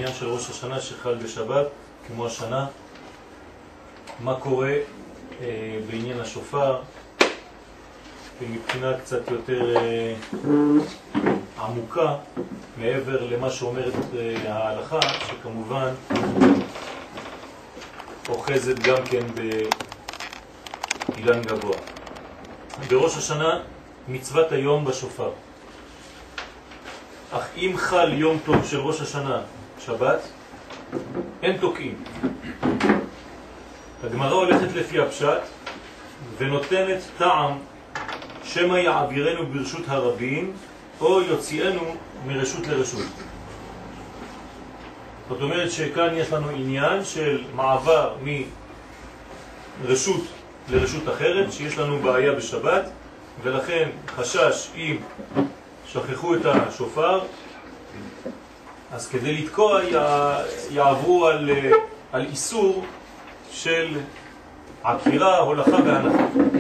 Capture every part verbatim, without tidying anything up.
העניין של ראש השנה שחל בשבת, כמו השנה, מה קורה אה, בעניין השופר, מבחינה קצת יותר אה, עמוקה, מעבר למה שאומרת אה, ההלכה, שכמובן אוחזת גם כן באילן גבוה. בראש השנה מצוות היום בשופר. אך אם חל יום טוב של ראש השנה, שבת, אין תוקעים. הגמרא הולכת לפי הפשט ונותנת טעם שמה יעבירנו ברשות הרבים או יוציאנו מרשות לרשות. זאת אומרת שכאן יש לנו עניין של מעבר מרשות לרשות אחרת, שיש לנו בעיה בשבת, ולכן חשש אם שכחו את השופר, אז כדי לתקוע יעברו על, על איסור של עקירה, הולכה והנחה.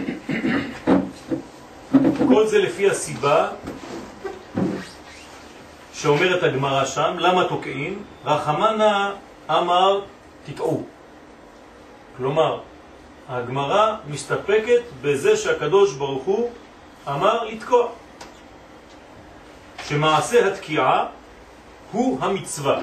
כל זה לפי הסיבה שאומרת הגמרא שם, למה תוקעים? רחמנה אמר תטעו. כלומר, הגמרא מסתפקת בזה שהקדוש ברוך הוא אמר לתקוע. שמעשה התקיעה הוא המצווה.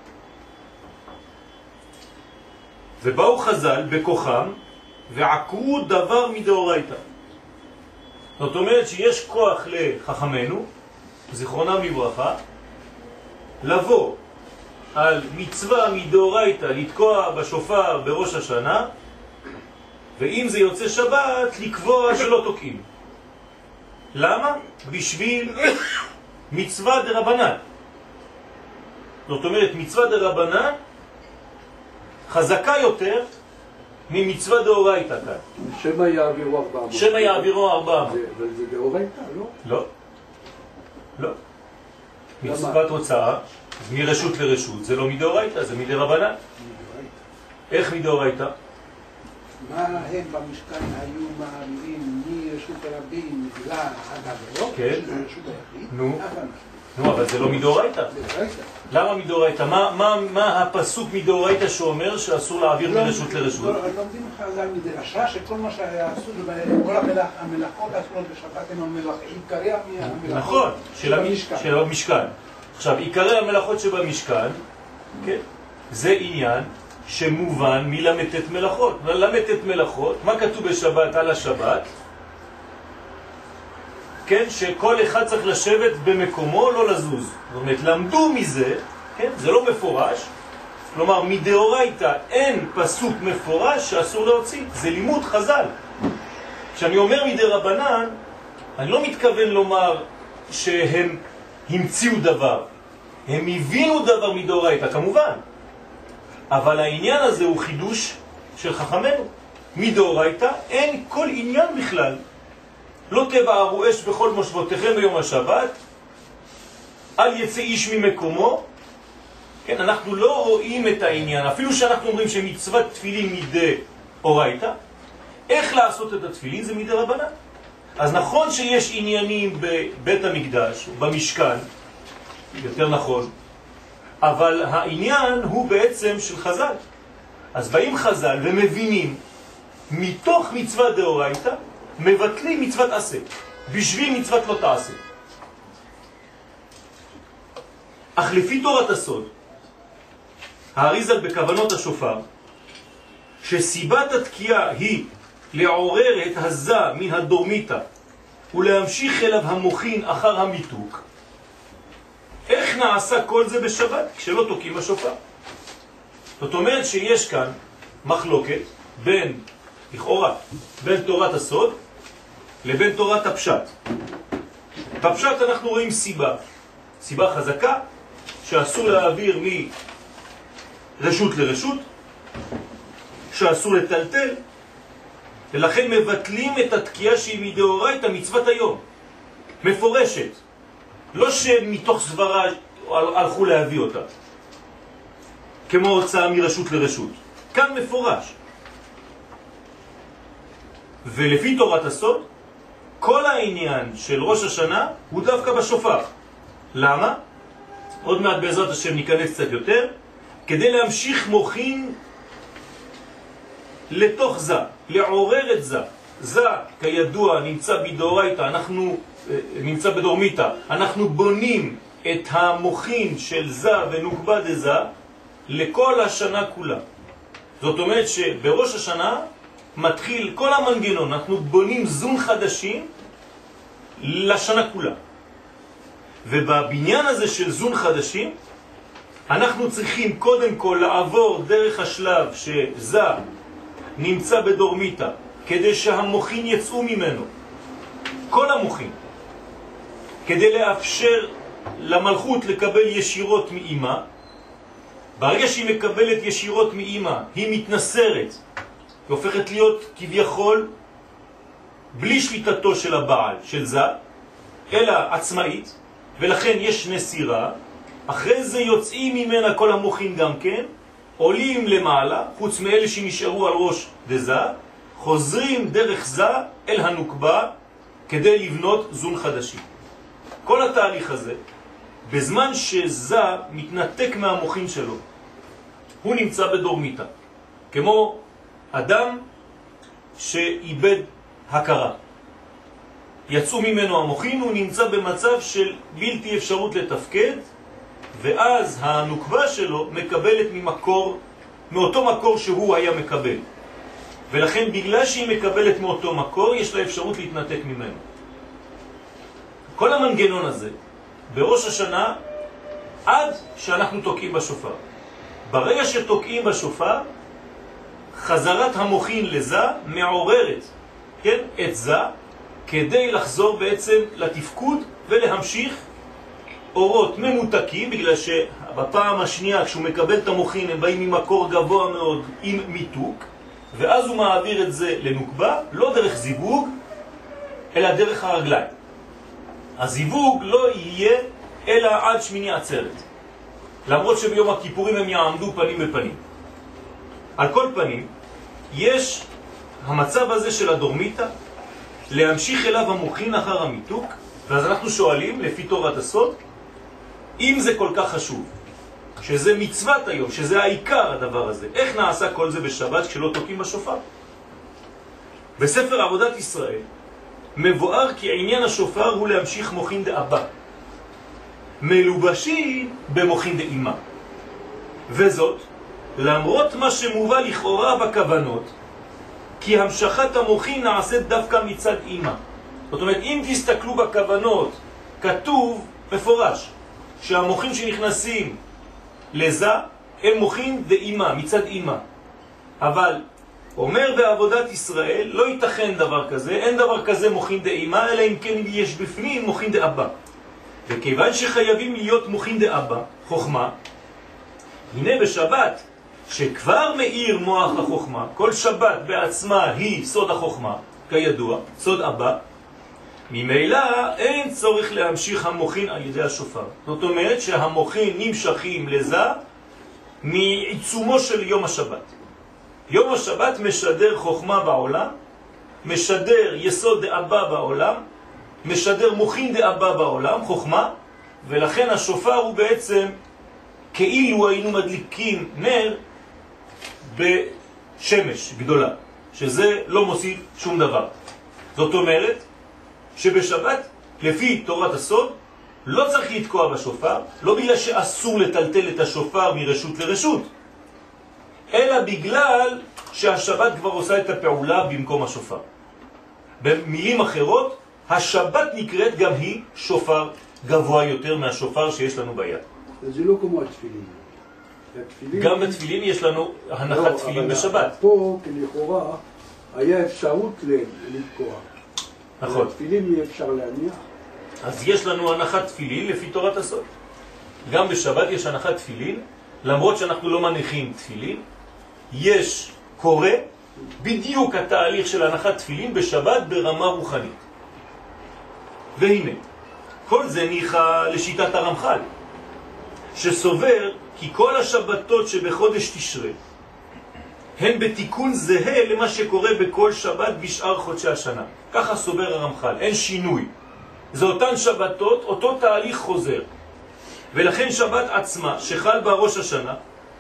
ובאו חז"ל בכוחם ועקרו דבר מדאורייתא. זאת אומרת שיש כוח לחכמנו, זיכרונם לברכה, לבוא על מצווה מדאורייתא לתקוע בשופר בראש השנה, ואם זה יוצא שבת לקבוע שלא תוקעים. למה? בשביל מצווה דרבנן. זאת אומרת, מצווה דרבנן חזקה יותר ממצווה דאורייתא כאן. שמה יעבירו ארבע מאות. שמה יעבירו ארבע מאות. אבל זה דאורייתא, לא? לא. לא. מצוות הוצאה, מרשות לרשות, זה לא מדאורייתא, זה מדרבנן. איך מדאורייתא? מה הם במשכן היו מעבירים מרשות הרבים בגלל הגברות, כן. רשות היחיד? נו. נו, אבל זה לא מדאורייתא. למה מדאורייתא? מה, מה, מה הפסוק מדאורייתא שאומר שאסור להעביר מרשות לרשות? לומדים חז"ל מדרשה שכל מה שעשו, כל המלאכות אסורות בשבת הם המלאכות, עיקרי המלאכות. נכון, של המשכן. עכשיו, עיקרי המלאכות שבמשכן, כן, זה עניין שמובן מלמתת מלאכות. למתת מלאכות, מה כתוב בשבת על השבת? כן, שכל אחד צריך לשבת במקומו, לא לזוז. זאת אומרת, למדו מזה, כן, זה לא מפורש, כלומר, מדאורייתא אין פסוק מפורש שאסור להוציא, זה לימוד חז"ל. כשאני אומר מדרבנן, אני לא מתכוון לומר שהם המציאו דבר, הם הבינו דבר מדאורייתא, כמובן. אבל העניין הזה הוא חידוש של חכמנו. מדאורייתא אין כל עניין בכלל. לא תבערו אש בכל מושבותיכם ביום השבת, אל יצא איש ממקומו. כן, אנחנו לא רואים את העניין, אפילו שאנחנו אומרים שמצוות תפילין מדאורייתא, איך לעשות את התפילין זה מדרבנן. אז נכון שיש עניינים בבית המקדש, במשכן, יותר נכון, אבל העניין הוא בעצם של חז"ל. אז באים חז"ל ומבינים, מתוך מצוות דאורייתא, מבטלים מצוות עשה, בשביל מצוות לא תעשה. אך לפי תורת הסוד, האריזל בכוונות השופר, שסיבת התקיעה היא לעורר את הזה מן הדורמיתא, ולהמשיך אליו המוחין אחר המיתוק, איך נעשה כל זה בשבת כשלא תוקים השופר? זאת אומרת שיש כאן מחלוקת בין, לכאורה, בין תורת הסוד לבין תורת הפשט. בפשט אנחנו רואים סיבה, סיבה חזקה שאסור להעביר מרשות לרשות, שאסור לטלטל, ולכן מבטלים את התקיעה שהיא מדאורייתא מצוות היום, מפורשת. לא שמתוך סברה הלכו להביא אותה, כמו הוצאה מרשות לרשות. כאן מפורש. ולפי תורת הסוד, כל העניין של ראש השנה הוא דווקא בשופר. למה? עוד מעט בעזרת השם ניכנס קצת יותר. כדי להמשיך מוכין לתוך זה, לעורר את זה. זה כידוע נמצא בדאורייתא, אנחנו נמצא בדורמיתא, אנחנו בונים את המוכין של זה ונוקבה דזה לכל השנה כולה. זאת אומרת שבראש השנה מתחיל כל המנגנון, אנחנו בונים זון חדשים לשנה כולה. ובבניין הזה של זון חדשים אנחנו צריכים קודם כל לעבור דרך השלב שזה נמצא בדורמיתא, כדי שהמוחין יצאו ממנו, כל המוחין, כדי לאפשר למלכות לקבל ישירות מאמא. ברגע שהיא מקבלת ישירות מאמא, היא מתנסרת, היא הופכת להיות כביכול בלי שליטתו של הבעל, של זה, אלא עצמאית, ולכן יש נסירה. אחרי זה יוצאים ממנה כל המוחין גם כן, עולים למעלה, חוץ מאלה שנשארו על ראש דזה, חוזרים דרך זה אל הנוקבה כדי לבנות זון חדשים. כל התהליך הזה, בזמן שזה מתנתק מהמוחין שלו, הוא נמצא בדורמיתא, כמו אדם שאיבד הכרה. יצאו ממנו המוחין, הוא נמצא במצב של בלתי אפשרות לתפקד, ואז הנוקבה שלו מקבלת ממקור, מאותו מקור שהוא היה מקבל. ולכן בגלל שהיא מקבלת מאותו מקור, יש לה אפשרות להתנתק ממנו. כל המנגנון הזה, בראש השנה, עד שאנחנו תוקעים בשופר. ברגע שתוקעים בשופר, חזרת המוחין לזה מעוררת, כן, את זה, כדי לחזור בעצם לתפקוד ולהמשיך אורות ממותקים, בגלל שבפעם השנייה כשהוא מקבל את המוחין הם באים ממקור גבוה מאוד עם מיתוק, ואז הוא מעביר את זה לנוקבה, לא דרך זיווג, אלא דרך הרגליים. הזיווג לא יהיה אלא עד שמיני עצרת, למרות שביום הכיפורים הם יעמדו פנים בפנים. על כל פנים, יש המצב הזה של הדורמיתא, להמשיך אליו המוחין אחר המיתוק, ואז אנחנו שואלים, לפי תורת הסוד, אם זה כל כך חשוב, שזה מצוות היום, שזה העיקר הדבר הזה, איך נעשה כל זה בשבת כשלא תוקים בשופר? בספר עבודת ישראל מבואר כי עניין השופר הוא להמשיך מוחין דאבא, מלובשים במוחין דאמא. וזאת, למרות מה שמובא לכאורה בכוונות, כי המשכת המוחין נעשית דווקא מצד אמא. זאת אומרת, אם תסתכלו בכוונות, כתוב מפורש שהמוחין שנכנסים לזה הם מוחין דאמא, מצד אמא. אבל אומר בעבודת ישראל, לא ייתכן דבר כזה, אין דבר כזה מוחין דאמא, אלא אם כן יש בפנים מוחין דאבא. וכיוון שחייבים להיות מוחין דאבא, חוכמה, הנה בשבת, שכבר מאיר מוח החוכמה, כל שבת בעצמה היא סוד החוכמה, כידוע, סוד אבא, ממילא אין צורך להמשיך המוחין על ידי השופר. זאת אומרת שהמוחין נמשכים לזה מעיצומו של יום השבת. יום השבת משדר חוכמה בעולם, משדר יסוד דאבא בעולם, משדר מוחין דאבא בעולם, חוכמה, ולכן השופר הוא בעצם כאילו היינו מדליקים נר בשמש גדולה, שזה לא מוסיף שום דבר. זאת אומרת שבשבת, לפי תורת הסוד, לא צריך לתקוע בשופר, לא בגלל שאסור לטלטל את השופר מרשות לרשות, אלא בגלל שהשבת כבר עושה את הפעולה במקום השופר. במילים אחרות, השבת נקראת גם היא שופר גבוה יותר מהשופר שיש לנו ביד. זה לא כמו התפילין. גם בתפילין יש לנו הנחת תפילין בשבת. פה, כלכאורה, היה אפשרות לתקוע. נכון. התפילין אי אפשר להניח. אז יש לנו הנחת תפילין לפי תורת הסוד. גם בשבת יש הנחת תפילין, למרות שאנחנו לא מניחים תפילין, יש קורא בדיוק התהליך של הנחת תפילין בשבת ברמה רוחנית. והנה, כל זה ניחה לשיטת הרמח"ל, שסובר כי כל השבתות שבחודש תשרה הן בתיקון זהה למה שקורה בכל שבת בשאר חודשי השנה. ככה סובר הרמח"ל, אין שינוי. זה אותן שבתות, אותו תהליך חוזר. ולכן שבת עצמה שחל בה ראש השנה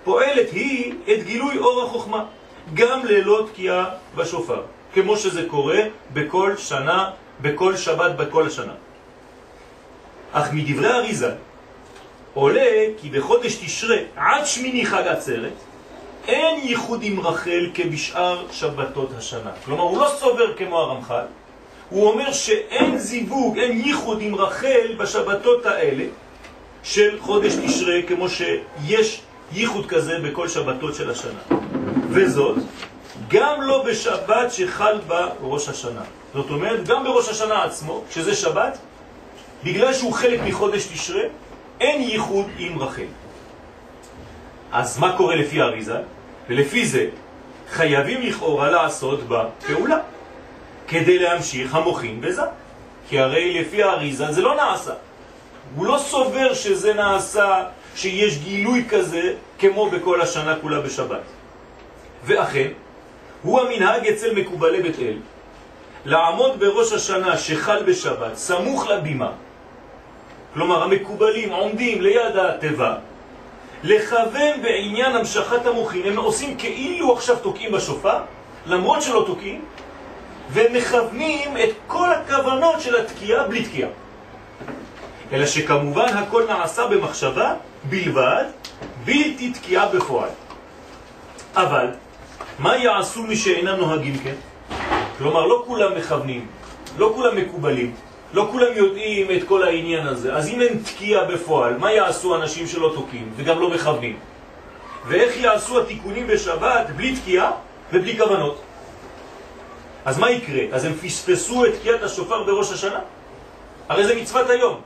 פועלת היא את גילוי אור החוכמה, גם ללא תקיעה בשופר, כמו שזה קורה בכל שנה, בכל שבת, בכל השנה. אך מדברי אריז"ל עולה כי בחודש תשרה עד שמיני חג עצרת אין ייחוד עם רחל כבשאר שבתות השנה. כלומר, הוא לא סובר כמו הרמח"ל, הוא אומר שאין זיווג, אין ייחוד עם רחל בשבתות האלה של חודש תשרה, כמו שיש ייחוד כזה בכל שבתות של השנה. וזאת גם לא בשבת שחל בה ראש השנה. זאת אומרת, גם בראש השנה עצמו, שזה שבת, בגלל שהוא חלק מחודש תשרה, אין ייחוד עם רחל. אז מה קורה לפי אריז"ל? ולפי זה חייבים לכאורה לעשות בה פעולה כדי להמשיך המוחין בזה. כי הרי לפי אריז"ל זה לא נעשה. הוא לא סובר שזה נעשה, שיש גילוי כזה כמו בכל השנה כולה בשבת. ואכן, הוא המנהג אצל מקובלי בית אל, לעמוד בראש השנה שחל בשבת, סמוך לבימה. כלומר, המקובלים עומדים ליד הטבע, לכוון בעניין המשכת המוחין. הם עושים כאילו עכשיו תוקעים בשופר, למרות שלא תוקעים, ומכוונים את כל הכוונות של התקיעה בלי תקיעה. אלא שכמובן הכל נעשה במחשבה בלבד, בלתי תקיעה בפועל. אבל מה יעשו מי שאינם נוהגים כן? כלומר, לא כולם מכוונים, לא כולם מקובלים, לא כולם יודעים את כל העניין הזה. אז אם אין תקיעה בפועל, מה יעשו אנשים שלא תוקעים וגם לא מכוונים? ואיך יעשו התיקונים בשבת בלי תקיעה ובלי כוונות? אז מה יקרה? אז הם פספסו את תקיעת השופר בראש השנה? הרי זה מצוות היום.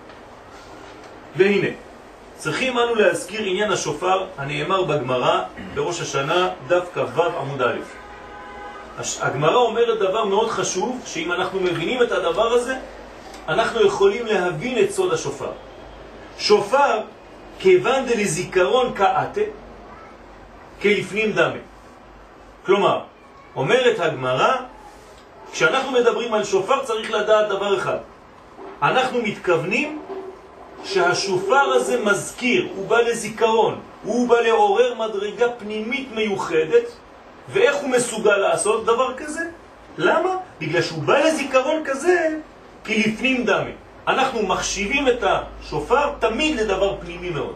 והנה, צריכים אנו להזכיר עניין השופר הנאמר בגמרא בראש השנה דף כ"ו עמוד א'. הגמרא אומרת דבר מאוד חשוב, שאם אנחנו מבינים את הדבר הזה, אנחנו יכולים להבין את סוד השופר. שופר כיוון דלזיכרון כאתה, כלפנים דמה. כלומר, אומרת הגמרא, כשאנחנו מדברים על שופר צריך לדעת דבר אחד. אנחנו מתכוונים שהשופר הזה מזכיר, הוא בא לזיכרון, הוא בא לעורר מדרגה פנימית מיוחדת. ואיך הוא מסוגל לעשות דבר כזה? למה? בגלל שהוא בא לזיכרון כזה כלפנים דמה. אנחנו מחשיבים את השופר תמיד לדבר פנימי מאוד.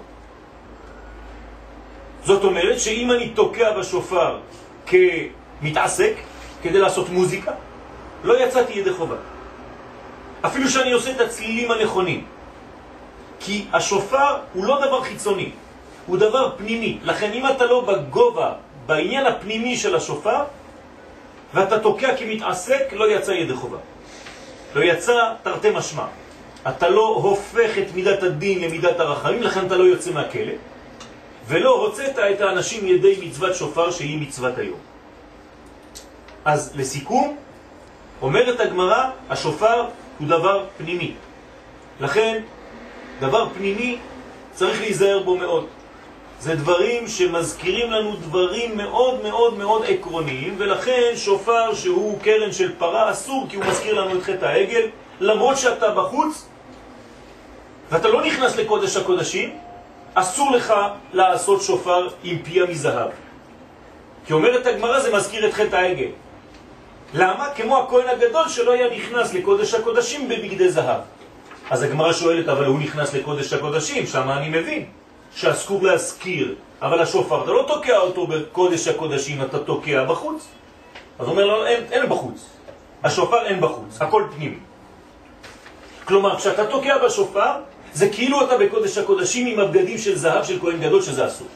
זאת אומרת שאם אני תוקע בשופר כמתעסק כדי לעשות מוזיקה, לא יצאתי ידי חובה. אפילו שאני עושה את הצלילים הנכונים. כי השופר הוא לא דבר חיצוני, הוא דבר פנימי. לכן אם אתה לא בגובה, בעניין הפנימי של השופר, ואתה תוקע כמתעסק, לא יצא ידי חובה. לא יצא תרתי משמע. אתה לא הופך את מידת הדין למידת הרחמים, לכן אתה לא יוצא מהכלא, ולא הוצאת את האנשים ידי מצוות שופר שהיא מצוות היום. אז לסיכום, אומרת הגמרא, השופר הוא דבר פנימי. לכן, דבר פנימי צריך להיזהר בו מאוד. זה דברים שמזכירים לנו דברים מאוד מאוד מאוד עקרוניים, ולכן שופר שהוא קרן של פרה אסור, כי הוא מזכיר לנו את חטא העגל, למרות שאתה בחוץ ואתה לא נכנס לקודש הקודשים, אסור לך לעשות שופר עם פיה מזהב. כי אומרת הגמרא, זה מזכיר את חטא העגל. למה? כמו הכהן הגדול שלא היה נכנס לקודש הקודשים בבגדי זהב. אז הגמרא שואלת, אבל הוא נכנס לקודש הקודשים, שם אני מבין שאסור להזכיר, אבל השופר, אתה לא תוקע אותו בקודש הקודשים, אתה תוקע בחוץ. אז הוא אומר לו, אין, אין בחוץ. השופר אין בחוץ, הכל פנימי. כלומר, כשאתה תוקע בשופר, זה כאילו אתה בקודש הקודשים עם הבגדים של זהב של כהן גדול, שזה אסור.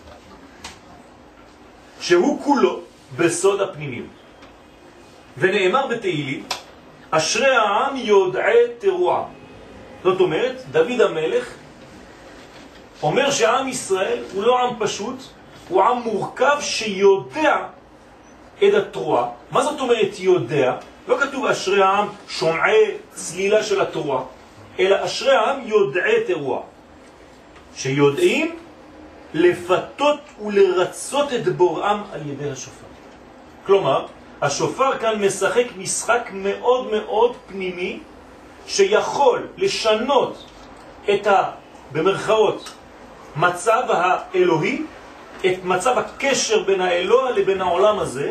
שהוא כולו בסוד הפנימיות. ונאמר בתהילים, אשרי העם יודעי תרועה. זאת אומרת, דוד המלך אומר שהעם ישראל הוא לא עם פשוט, הוא עם מורכב שיודע את התרועה. מה זאת אומרת יודע? לא כתוב אשרי העם שומעי צלילה של התרועה, אלא אשרי העם יודעי תרועה, שיודעים לפתות ולרצות את בוראם על ידי השופר. כלומר, השופר כאן משחק משחק מאוד מאוד פנימי, שיכול לשנות את ה, במרכאות, מצב האלוהי את מצב הקשר בין האלוה לבין העולם הזה,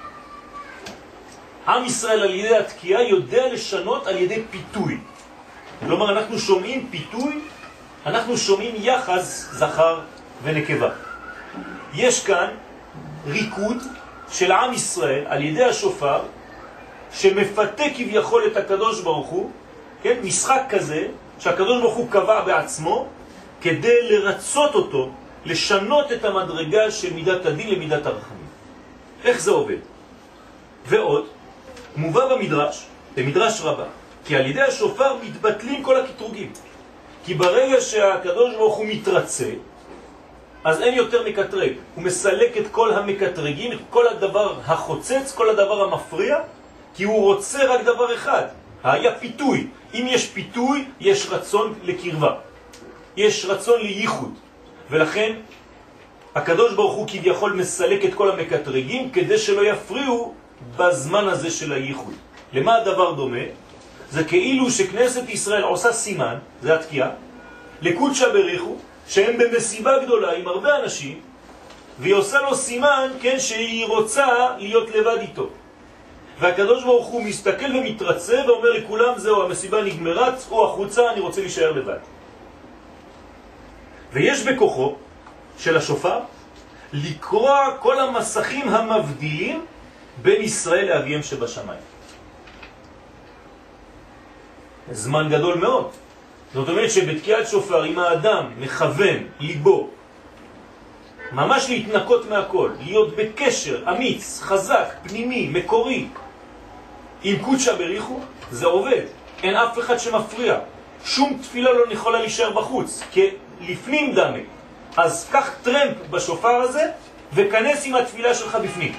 עם ישראל על ידי התקיעה יודע לשנות על ידי פיתוי. כלומר, אנחנו שומעים פיתוי, אנחנו שומעים יחס זכר ונקבה. יש כאן ריקוד של עם ישראל על ידי השופר, שמפתה כביכול את הקדוש ברוך הוא, כן? משחק כזה שהקדוש ברוך הוא קבע בעצמו, כדי לרצות אותו, לשנות את המדרגה של מידת הדין למידת הרחמים. איך זה עובד? ועוד, מובא במדרש, במדרש רבה, כי על ידי השופר מתבטלים כל הקטרוגים. כי ברגע שהקדוש ברוך הוא מתרצה, אז אין יותר מקטרג. הוא מסלק את כל המקטרגים, את כל הדבר החוצץ, כל הדבר המפריע, כי הוא רוצה רק דבר אחד. היה פיתוי. אם יש פיתוי, יש רצון לקרבה. יש רצון לייחוד. ולכן, הקדוש ברוך הוא כביכול מסלק את כל המקטרגים, כדי שלא יפריעו בזמן הזה של הייחוד. למה הדבר דומה? זה כאילו שכנסת ישראל עושה סימן, זה התקיעה, לקודשא בריחו, שהם במסיבה גדולה עם הרבה אנשים, והיא עושה לו סימן, כן, שהיא רוצה להיות לבד איתו. והקדוש ברוך הוא מסתכל ומתרצה ואומר לכולם, זהו, המסיבה נגמרה, צאו החוצה, אני רוצה להישאר לבד. ויש בכוחו של השופר לקרוע כל המסכים המבדילים בין ישראל לאביהם שבשמיים. זמן גדול מאוד. זאת אומרת שבתקיעת שופר, אם האדם מכוון ליבו ממש להתנקות מהכל, להיות בקשר אמיץ, חזק, פנימי, מקורי עם קודשא בריחו, זה עובד. אין אף אחד שמפריע. שום תפילה לא יכולה להישאר בחוץ, כי לפנים דמה. אז קח טרמפ בשופר הזה וכנס עם התפילה שלך בפנים.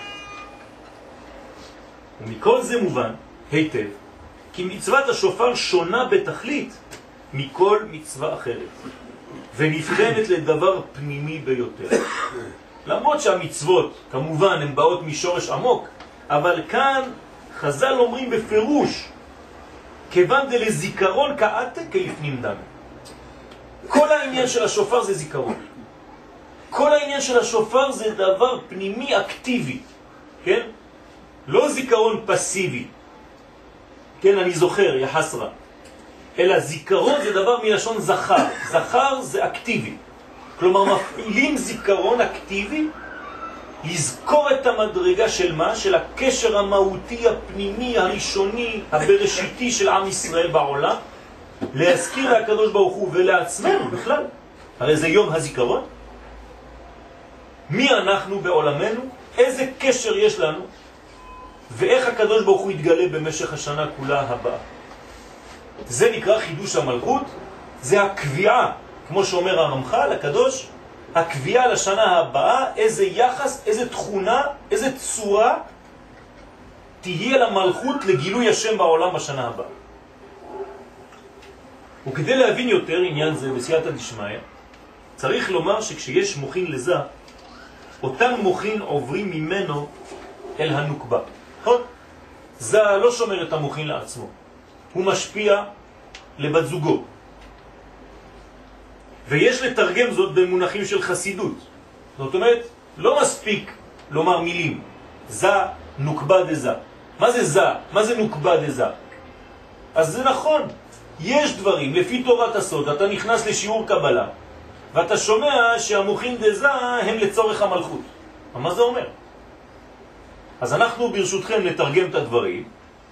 ומכל זה מובן היטב כי מצוות השופר שונה בתכלית מכל מצווה אחרת, ונבחנת לדבר פנימי ביותר. למרות שהמצוות כמובן הן באות משורש עמוק, אבל כאן חז"ל אומרים בפירוש, כיוון דלזיכרון כעתה כלפנים דמה. כל העניין של השופר זה זיכרון. כל העניין של השופר זה דבר פנימי אקטיבי, כן? לא זיכרון פסיבי. כן, אני זוכר, יחסרה. אלא זיכרון זה דבר מלשון זכר. זכר זה אקטיבי. כלומר, מפעילים זיכרון אקטיבי לזכור את המדרגה של מה? של הקשר המהותי, הפנימי, הראשוני, הבראשיתי של עם ישראל בעולם, להזכיר להקדוש ברוך הוא ולעצמנו בכלל. הרי זה יום הזיכרון. מי אנחנו בעולמנו? איזה קשר יש לנו? ואיך הקדוש ברוך הוא יתגלה במשך השנה כולה הבאה. זה נקרא חידוש המלכות, זה הקביעה, כמו שאומר הרמח"ל הקדוש, הקביעה לשנה הבאה, איזה יחס, איזה תכונה, איזה צורה תהיה למלכות לגילוי השם בעולם בשנה הבאה. וכדי להבין יותר עניין זה בסייעתא דשמיא, צריך לומר שכשיש מוחין לזה, אותם מוחין עוברים ממנו אל הנוקבה. נכון? זה לא שומר את המוחין לעצמו. הוא משפיע לבת זוגו. ויש לתרגם זאת במונחים של חסידות. זאת אומרת, לא מספיק לומר מילים. זה נוקבה דזה. מה זה זה? מה זה נוקבה דזה? אז זה נכון. יש דברים, לפי תורת הסוד, אתה נכנס לשיעור קבלה, ואתה שומע שהמוחין דזה הם לצורך המלכות. מה זה אומר? אז אנחנו ברשותכם נתרגם את הדברים,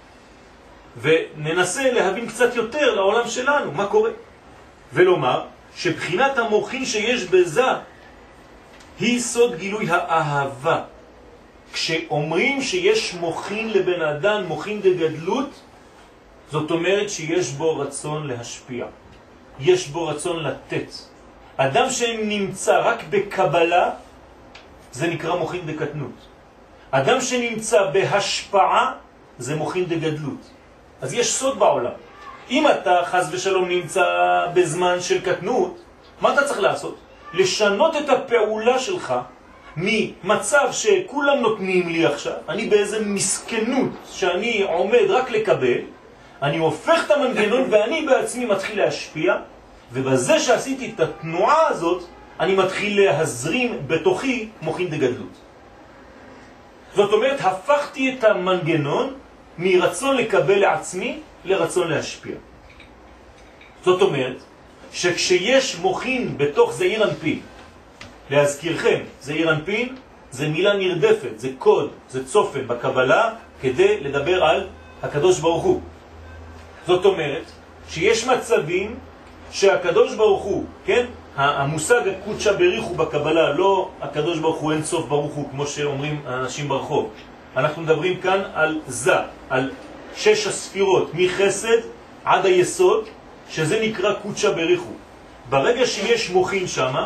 וננסה להבין קצת יותר לעולם שלנו, מה קורה. ולומר שבחינת המוחין שיש בזה היא סוד גילוי האהבה. כשאומרים שיש מוחין לבן אדם, מוחין דגדלות, זאת אומרת שיש בו רצון להשפיע. יש בו רצון לתת. אדם שנמצא רק בקבלה, זה נקרא מוחין דקטנות. אדם שנמצא בהשפעה, זה מוחין דגדלות. אז יש סוד בעולם. אם אתה חס ושלום נמצא בזמן של קטנות, מה אתה צריך לעשות? לשנות את הפעולה שלך ממצב שכולם נותנים לי עכשיו, אני באיזה מסכנות שאני עומד רק לקבל, אני הופך את המנגנון ואני בעצמי מתחיל להשפיע, ובזה שעשיתי את התנועה הזאת, אני מתחיל להזרים בתוכי מוחין דגדלות. זאת אומרת, הפכתי את המנגנון מרצון לקבל לעצמי לרצון להשפיע. זאת אומרת, שכשיש מוחין בתוך זעיר אנפין, להזכירכם, זעיר אנפין זה מילה נרדפת, זה קוד, זה צופן בקבלה כדי לדבר על הקדוש ברוך הוא. זאת אומרת, שיש מצבים שהקדוש ברוך הוא, כן? המושג הקודשא בריחו בקבלה, לא הקדוש ברוך הוא אין סוף ברוך הוא, כמו שאומרים האנשים ברחוב. אנחנו מדברים כאן על זה, על שש הספירות, מחסד עד היסוד, שזה נקרא קודשא בריחו. ברגע שיש מוחין שמה,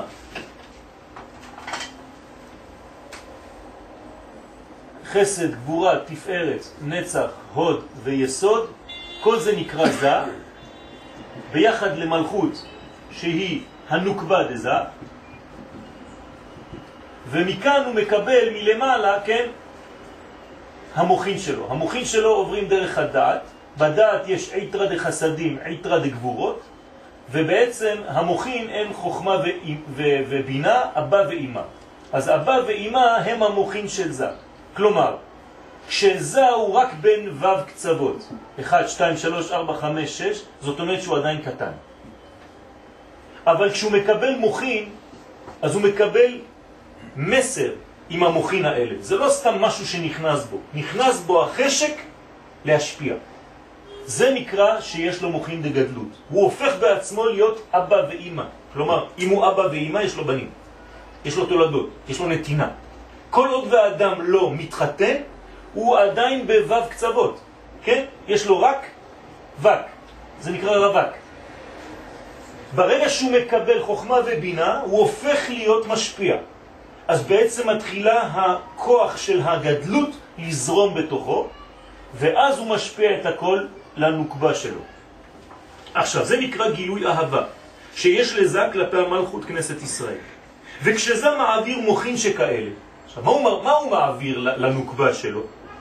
חסד, גבורה, תפארת, נצח, הוד ויסוד, כל זה נקרא זה, ביחד למלכות שהיא הנוקבה דזה, ומכאן הוא מקבל מלמעלה, כן, המוחין שלו. המוחין שלו עוברים דרך הדעת, בדעת יש עיתרא דחסדים, עיתרא דגבורות, ובעצם המוחין הם חוכמה ובינה, אבא ואמא. אז אבא ואמא הם המוחין של זה. כלומר, כשזה הוא רק בין ו' קצוות, אחת, שתיים, שלוש, ארבע, חמש, שש, זאת אומרת שהוא עדיין קטן. אבל כשהוא מקבל מוחין, אז הוא מקבל מסר עם המוחין האלה. זה לא סתם משהו שנכנס בו. נכנס בו החשק להשפיע. זה נקרא שיש לו מוחין דגדלות. הוא הופך בעצמו להיות אבא ואמא. כלומר, אם הוא אבא ואמא, יש לו בנים. יש לו תולדות, יש לו נתינה. כל עוד והאדם לא מתחתן, הוא עדיין בו' קצוות. כן? יש לו רק וק. זה נקרא רווק. ברגע שהוא מקבל חוכמה ובינה, הוא הופך להיות משפיע. אז בעצם מתחילה הכוח של הגדלות לזרום בתוכו, ואז הוא משפיע את הכל לנוקבה שלו. עכשיו, זה נקרא גילוי אהבה, שיש לזה כלפי המלכות כנסת ישראל. וכשזה מעביר מוחין שכאלה, עכשיו, מה הוא, מה הוא מעביר לנוקבה שלו?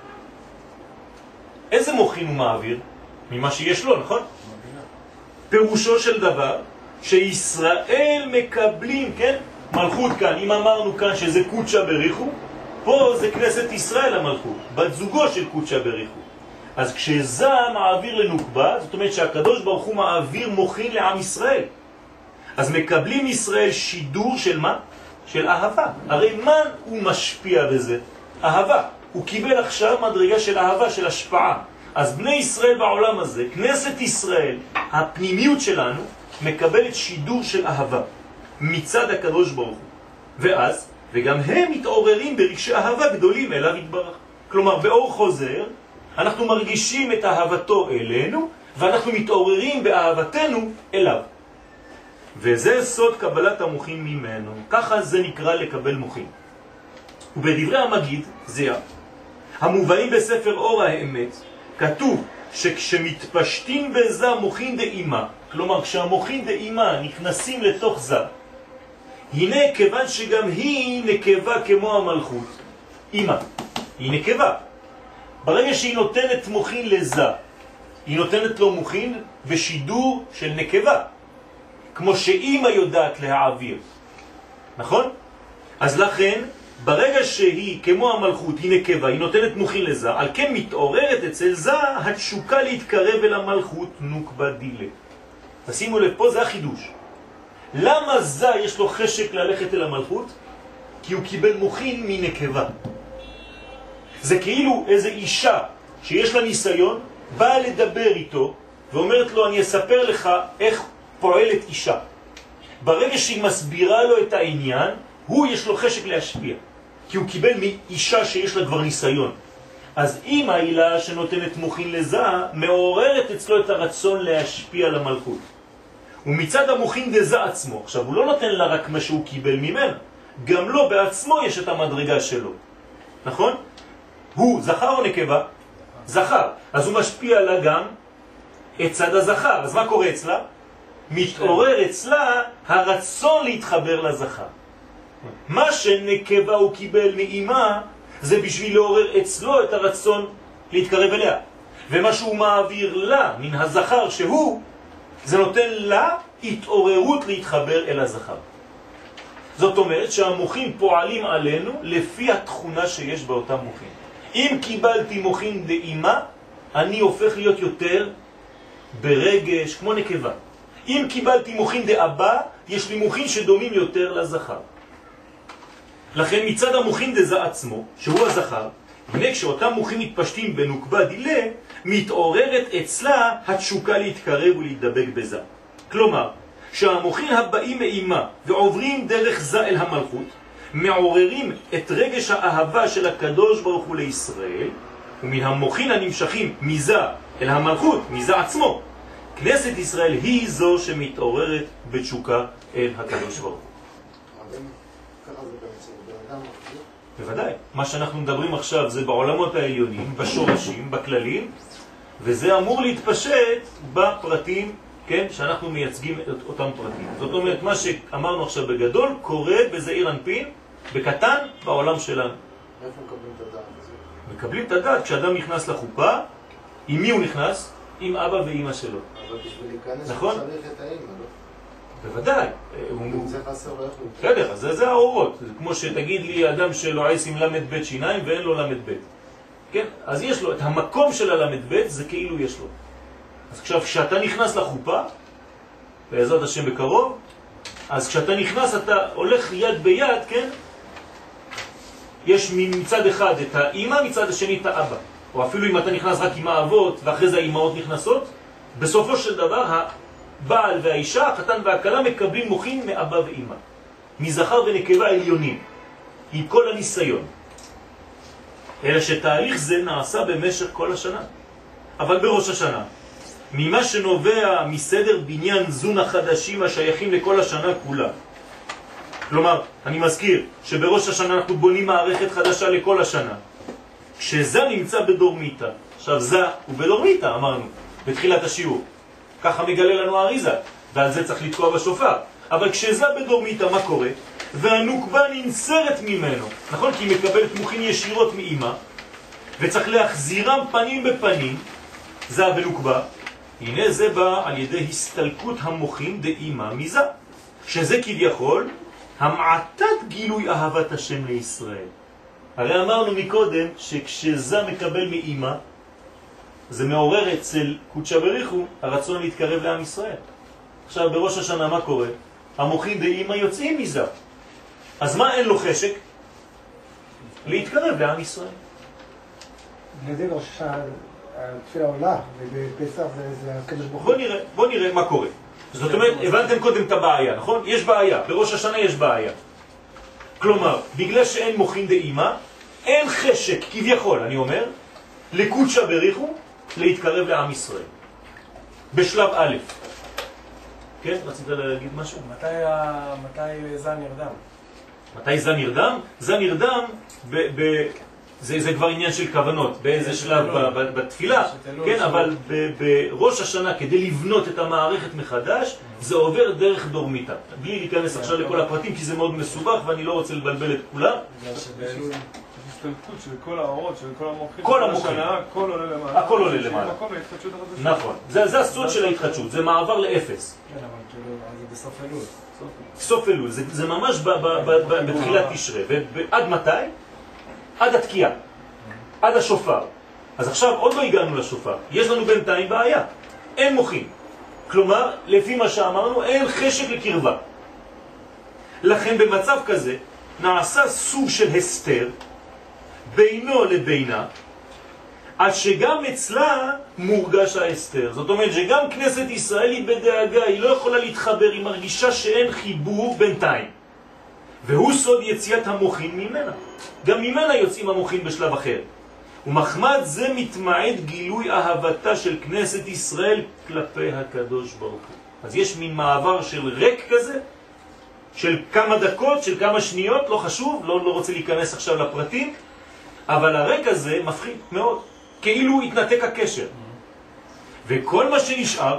איזה מוחין הוא מעביר? ממה שיש לו, נכון? פירושו של דבר, שישראל מקבלים, כן? מלכות כאן, אם אמרנו כאן שזה קודשא בריחו, פה זה כנסת ישראל המלכות, בת זוגו של קודשא בריחו. אז כשזה מעביר לנוקבה, זאת אומרת שהקדוש ברוך הוא מעביר מוחין לעם ישראל. אז מקבלים ישראל שידור של מה? של אהבה. הרי מה הוא משפיע בזה? אהבה. הוא קיבל עכשיו מדרגה של אהבה, של השפעה. אז בני ישראל בעולם הזה, כנסת ישראל, הפנימיות שלנו, מקבלת שידור של אהבה מצד הקדוש ברוך הוא. ואז, וגם הם מתעוררים ברגשי אהבה גדולים אליו יתברך. כלומר, באור חוזר, אנחנו מרגישים את אהבתו אלינו, ואנחנו מתעוררים באהבתנו אליו. וזה סוד קבלת המוחין ממנו. ככה זה נקרא לקבל מוחין. ובדברי המגיד, זה המובאים בספר אור האמת, כתוב שכשמתפשטים בזה מוחין דאימה, כלומר כשהמוחין דאימה נכנסים לתוך זה, הנה כיוון שגם היא נקבה כמו המלכות, אימא, היא נקבה. ברגע שהיא נותנת מוחין לזה, היא נותנת לו מוחין בשידור של נקבה, כמו שאימא יודעת להעביר. נכון? אז לכן, ברגע שהיא כמו המלכות, היא נקבה, היא נותנת מוחין לזה, על כן מתעוררת אצל זה התשוקה להתקרב אל המלכות נוקבה דילה. תשימו לב, פה זה החידוש. למה זה יש לו חשק ללכת אל המלכות? כי הוא קיבל מוחין מנקבה. זה כאילו איזו אישה שיש לה ניסיון, באה לדבר איתו, ואומרת לו, אני אספר לך איך פועלת אישה. ברגע שהיא מסבירה לו את העניין, הוא יש לו חשק להשפיע. כי הוא קיבל מאישה שיש לה כבר ניסיון. אז אם העילה שנותנת מוחין לזה, מעוררת אצלו את הרצון להשפיע למלכות. ומצד המוחין דזה עצמו, עכשיו הוא לא נותן לה רק מה שהוא קיבל ממנו, גם לו בעצמו יש את המדרגה שלו. נכון? הוא זכר או נקבה? זכר. אז הוא משפיע לה גם את צד הזכר. אז מה קורה אצלה? מתעורר אצלה הרצון להתחבר לזכר. מה שנקבה הוא קיבל מאימה, זה בשביל לעורר אצלו את הרצון להתקרב אליה. ומה שהוא מעביר לה, מן הזכר שהוא, זה נותן לה התעוררות להתחבר אל הזכר. זאת אומרת שהמוחים פועלים עלינו לפי התכונה שיש באותם מוחים. אם קיבלתי מוחין דאימה, אני הופך להיות יותר ברגש, כמו נקבה. אם קיבלתי מוחין דאבא, יש לי מוחין שדומים יותר לזכר. לכן מצד המוחין דזה עצמו, שהוא הזכר, הנה כשאותם מוחים מתפשטים בנוקבה דילה, מתעוררת אצלה התשוקה להתקרב ולהתדבק בזה. כלומר, שהמוחין הבאים מאימה ועוברים דרך זה אל המלכות, מעוררים את רגש האהבה של הקדוש ברוך הוא לישראל, ומן המוחין הנמשכים מזה אל המלכות, מזה עצמו, כנסת ישראל היא זו שמתעוררת בתשוקה אל הקדוש ברוך הוא. בוודאי, מה שאנחנו מדברים עכשיו זה בעולמות העליונים, בשורשים, בכללים, וזה אמור להתפשט בפרטים, כן, שאנחנו מייצגים את אותם פרטים. זאת אומרת, מה שאמרנו עכשיו בגדול קורה בזעיר אנפין, בקטן, בעולם שלנו. איפה מקבלים את הדעת הזה? מקבלים את הדעת כשאדם נכנס לחופה, עם מי הוא נכנס? עם אבא ואמא שלו. אבל בשביל להיכנס נכון? הוא צריך את האמא, לא? בוודאי. אם זה חסר לא יכול. בסדר, אז זה, זה האורות. זה כמו שתגיד לי אדם שלועס עם למד בית שיניים ואין לו למד בית. כן? אז יש לו את המקום של הלמד בית, זה כאילו יש לו. אז עכשיו, כשאתה נכנס לחופה, בעזרת השם בקרוב, אז כשאתה נכנס אתה הולך יד ביד, כן? יש מצד אחד את האמא, מצד השני את האבא. או אפילו אם אתה נכנס רק עם האבות ואחרי זה האמהות נכנסות, בסופו של דבר הבעל והאישה, החתן והכלה, מקבלים מוחין מאבא ואמא. מזכר ונקבה עליונים. עם כל הניסיון. אלא שתהליך זה נעשה במשך כל השנה. אבל בראש השנה, ממה שנובע מסדר בניין זון החדשים השייכים לכל השנה כולה. כלומר, אני מזכיר שבראש השנה אנחנו בונים מערכת חדשה לכל השנה. כשזה נמצא בדורמיטה. עכשיו זה הוא בדורמיטה, אמרנו, בתחילת השיעור. ככה מגלה לנו האריזה, ועל זה צריך לתקוע בשופר. אבל כשזה בדורמיטה, מה קורה? והנוקבה ננסרת ממנו. נכון? כי היא מקבלת מוחין ישירות מאמא, וצריך להחזירם פנים בפנים, זה ונוקבה. הנה זה בא על ידי הסתלקות המוחין דאמא מזה, שזה כביכול המעטת גילוי אהבת השם לישראל. הרי אמרנו מקודם שכשזה מקבל מאמא, זה מעורר אצל קודשא בריחו הרצון להתקרב לעם ישראל. עכשיו בראש השנה מה קורה? המוחין דאמא יוצאים מזה. אז מה אין לו חשק? להתקרב לעם ישראל. בגלל בראש השנה התפילה עולה, ובפסח זה הקדוש ברוך הוא. בוא נראה, בוא נראה מה קורה. זאת אומרת, הבנתם קודם את הבעיה, נכון? יש בעיה, בראש השנה יש בעיה. כלומר, בגלל שאין מוחין דאמא, אין חשק, כביכול, אני אומר, לקודשא בריחו, להתקרב לעם ישראל. בשלב א'. כן? רצית להגיד משהו? מתי, מתי זה נרדם? מתי זה נרדם? זה נרדם ב... ב זה, זה כבר עניין של כוונות, באיזה שלב בתפילה, כן, אבל בראש השנה כדי לבנות את המערכת מחדש, זה עובר דרך דורמיטה. בלי להיכנס עכשיו לכל הפרטים, כי זה מאוד מסובך ואני לא רוצה לבלבל את כולם. הסתלקות של כל האורות, של כל המוחים, כל המוחים. הכל עולה למעלה. הכל עולה למעלה. נכון, זה הסוד של ההתחדשות, זה מעבר לאפס. כן, אבל כאילו, זה בסוף אלול. סוף אלול, זה ממש בתחילת תשרה. ועד מתי? עד התקיעה, עד השופר. אז עכשיו עוד לא הגענו לשופר. יש לנו בינתיים בעיה. אין מוחים. כלומר, לפי מה שאמרנו, אין חשק לקרבה. לכן במצב כזה נעשה סוג של הסתר בינו לבינה, עד שגם אצלה מורגש ההסתר. זאת אומרת שגם כנסת ישראל היא בדאגה, היא לא יכולה להתחבר, היא מרגישה שאין חיבור בינתיים. והוא סוד יציאת המוחין ממנה. גם ממנה יוצאים המוחין בשלב אחר. ומחמד זה מתמעט גילוי אהבתה של כנסת ישראל כלפי הקדוש ברוך הוא. אז יש מין מעבר של ריק כזה, של כמה דקות, של כמה שניות, לא חשוב, לא, לא רוצה להיכנס עכשיו לפרטים, אבל הריק הזה מפחיד מאוד, כאילו התנתק הקשר. וכל מה שנשאר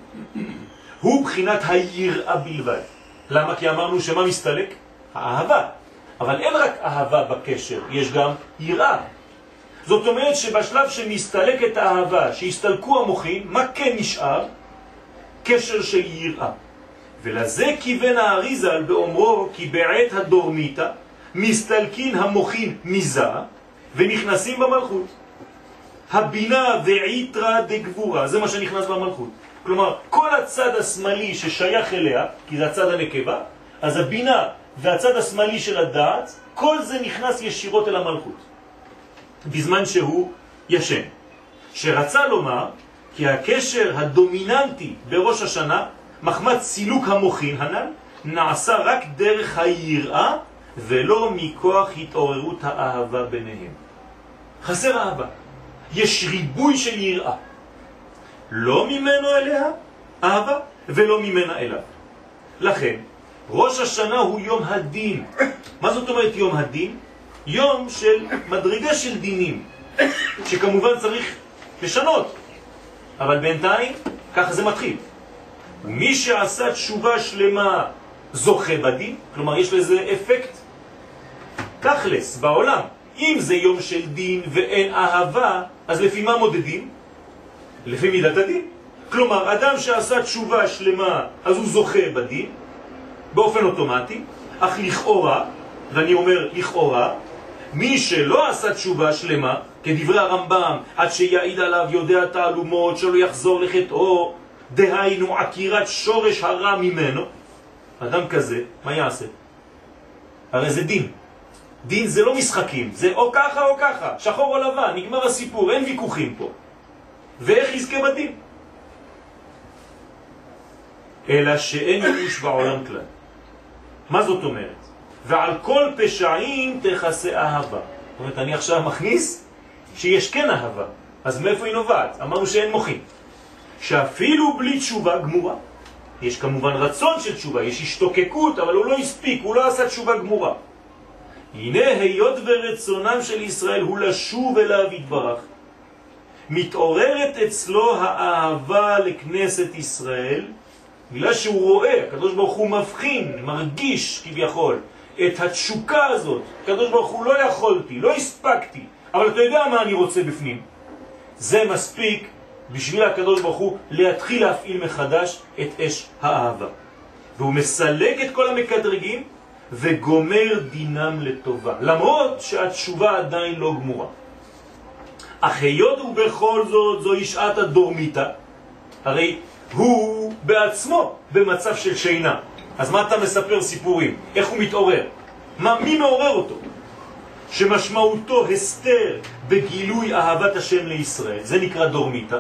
הוא בחינת היראה בלבד. למה? כי אמרנו שמה מסתלק? האהבה. אבל אין רק אהבה בקשר, יש גם יראה. זאת אומרת שבשלב שמסתלקת האהבה, שהסתלקו המוחין, מה כן נשאר? קשר של יראה. ולזה כיוון האריזל באומרו כי בעת הדורמיתא מסתלקין המוחין מזה ונכנסים במלכות. הבינה ועיתרא דגבורה, זה מה שנכנס במלכות. כלומר, כל הצד השמאלי ששייך אליה, כי זה הצד הנקבה, אז הבינה והצד השמאלי של הדעת, כל זה נכנס ישירות אל המלכות. בזמן שהוא ישן. שרצה לומר כי הקשר הדומיננטי בראש השנה, מחמת סילוק המוחין הנ"ל, נעשה רק דרך היראה ולא מכוח התעוררות האהבה ביניהם. חסר אהבה. יש ריבוי של יראה. לא ממנו אליה אהבה ולא ממנה אליו. לכן, ראש השנה הוא יום הדין. מה זאת אומרת יום הדין? יום של מדרגה של דינים, שכמובן צריך לשנות. אבל בינתיים, ככה זה מתחיל. מי שעשה תשובה שלמה זוכה בדין, כלומר יש לזה אפקט תכלס בעולם. אם זה יום של דין ואין אהבה, אז לפי מה מודדים? לפי מידת הדין. כלומר, אדם שעשה תשובה שלמה, אז הוא זוכה בדין, באופן אוטומטי, אך לכאורה, ואני אומר לכאורה, מי שלא עשה תשובה שלמה, כדברי הרמב"ם, עד שיעיד עליו יודע תעלומות, שלא יחזור לחטאו, דהיינו עקירת שורש הרע ממנו, אדם כזה, מה יעשה? הרי זה דין. דין זה לא משחקים, זה או ככה או ככה, שחור או לבן, נגמר הסיפור, אין ויכוחים פה. ואיך יזכה בדין? אלא שאין ייאוש בעולם כלל. מה זאת אומרת? ועל כל פשעים תכסה אהבה. זאת אומרת, אני עכשיו מכניס שיש כן אהבה. אז מאיפה היא נובעת? אמרנו שאין מוחין. שאפילו בלי תשובה גמורה, יש כמובן רצון של תשובה, יש השתוקקות, אבל הוא לא הספיק, הוא לא עשה תשובה גמורה. הנה היות ורצונם של ישראל הוא לשוב אליו יתברך, מתעוררת אצלו האהבה לכנסת ישראל, בגלל שהוא רואה, הקדוש ברוך הוא מבחין, מרגיש כביכול את התשוקה הזאת. הקדוש ברוך הוא לא יכולתי, לא הספקתי, אבל אתה יודע מה אני רוצה בפנים. זה מספיק בשביל הקדוש ברוך הוא להתחיל להפעיל מחדש את אש האהבה. והוא מסלק את כל המקדרגים וגומר דינם לטובה, למרות שהתשובה עדיין לא גמורה. אך היות ובכל זאת זו שעת הדורמיתא, הרי הוא בעצמו במצב של שינה. אז מה אתה מספר סיפורים? איך הוא מתעורר? מה, מי מעורר אותו? שמשמעותו הסתר בגילוי אהבת השם לישראל, זה נקרא דורמיתא,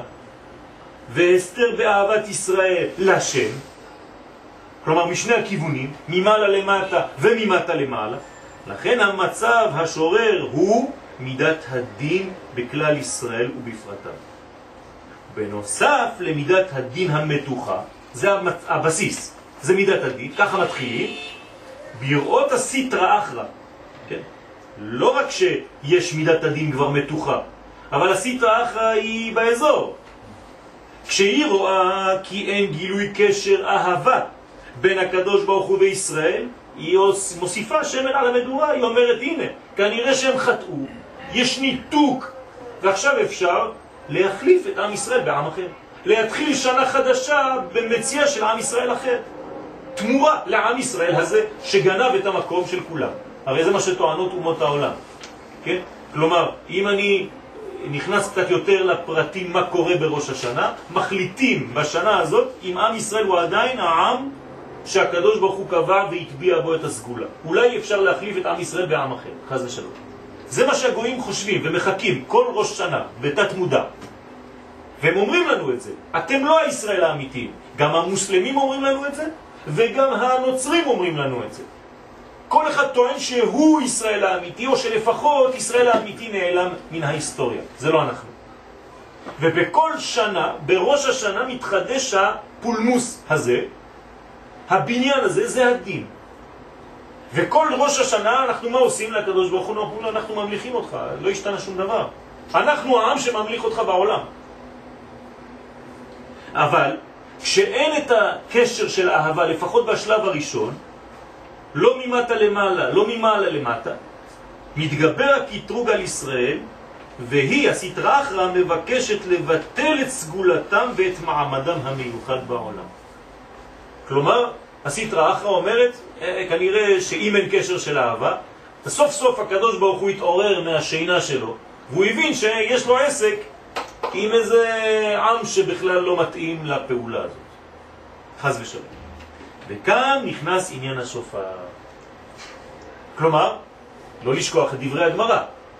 והסתר באהבת ישראל לשם, כלומר משני הכיוונים, ממעלה למטה וממטה למעלה. לכן המצב השורר הוא מידת הדין בכלל ישראל ובפרטיו. בנוסף למידת הדין המתוחה, זה הבסיס, זה מידת הדין, ככה מתחילים, בראות הסיטרא אחרא, כן? לא רק שיש מידת הדין כבר מתוחה, אבל הסיטרא אחרא היא באזור. כשהיא רואה כי אין גילוי קשר אהבה בין הקדוש ברוך הוא וישראל, היא מוסיפה שמן על המדורה, היא אומרת הנה, כנראה שהם חטאו, יש ניתוק, ועכשיו אפשר להחליף את עם ישראל בעם אחר, להתחיל שנה חדשה במציאה של עם ישראל אחר, תמורה לעם ישראל הזה שגנב את המקום של כולם. הרי זה מה שטוענות אומות העולם, כן? כלומר, אם אני נכנס קצת יותר לפרטים מה קורה בראש השנה, מחליטים בשנה הזאת אם עם ישראל הוא עדיין העם שהקדוש ברוך הוא קבע והטביע בו את הסגולה. אולי אפשר להחליף את עם ישראל בעם אחר, חס ושלום. זה מה שהגויים חושבים ומחכים כל ראש שנה בתת מודע, והם אומרים לנו את זה. אתם לא הישראל האמיתיים. גם המוסלמים אומרים לנו את זה, וגם הנוצרים אומרים לנו את זה. כל אחד טוען שהוא ישראל האמיתי, או שלפחות ישראל האמיתי נעלם מן ההיסטוריה. זה לא אנחנו. ובכל שנה, בראש השנה מתחדש הפולמוס הזה, הבניין הזה, זה הדין. וכל ראש השנה אנחנו מה עושים לקדוש ברוך הוא? אנחנו ממליכים אותך, לא השתנה שום דבר. אנחנו העם שממליך אותך בעולם. אבל כשאין את הקשר של אהבה, לפחות בשלב הראשון, לא ממטה למעלה, לא ממעלה למטה, מתגבר הקטרוג על ישראל, והיא, הסטרא אחרא, מבקשת לבטל את סגולתם ואת מעמדם המיוחד בעולם. כלומר, הסטרא אחרא אומרת, אה, כנראה שאם אין קשר של אהבה, סוף סוף הקדוש ברוך הוא התעורר מהשינה שלו, והוא הבין שיש לו עסק עם איזה עם שבכלל לא מתאים לפעולה הזאת. חס ושלום. וכאן נכנס עניין השופר. כלומר, לא לשכוח את דברי הגמרא.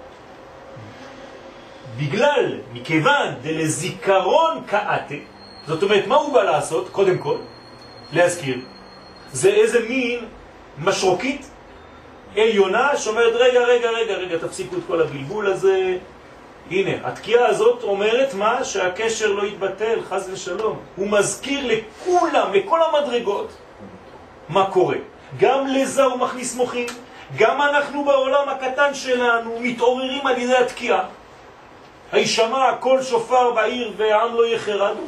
בגלל, מכיוון דלזיכרון קאטה, זאת אומרת, מה הוא בא לעשות? קודם כל, להזכיר. זה איזה מין משרוקית עליונה שאומרת, רגע, רגע, רגע, רגע, תפסיקו את כל הבלבול הזה. הנה, התקיעה הזאת אומרת מה? שהקשר לא יתבטל, חס ושלום. הוא מזכיר לכולם, לכל המדרגות, מה קורה. גם לזה הוא מכניס מוחים, גם אנחנו בעולם הקטן שלנו מתעוררים על ידי התקיעה. הישמע כל שופר בעיר והעם לא יחרדו.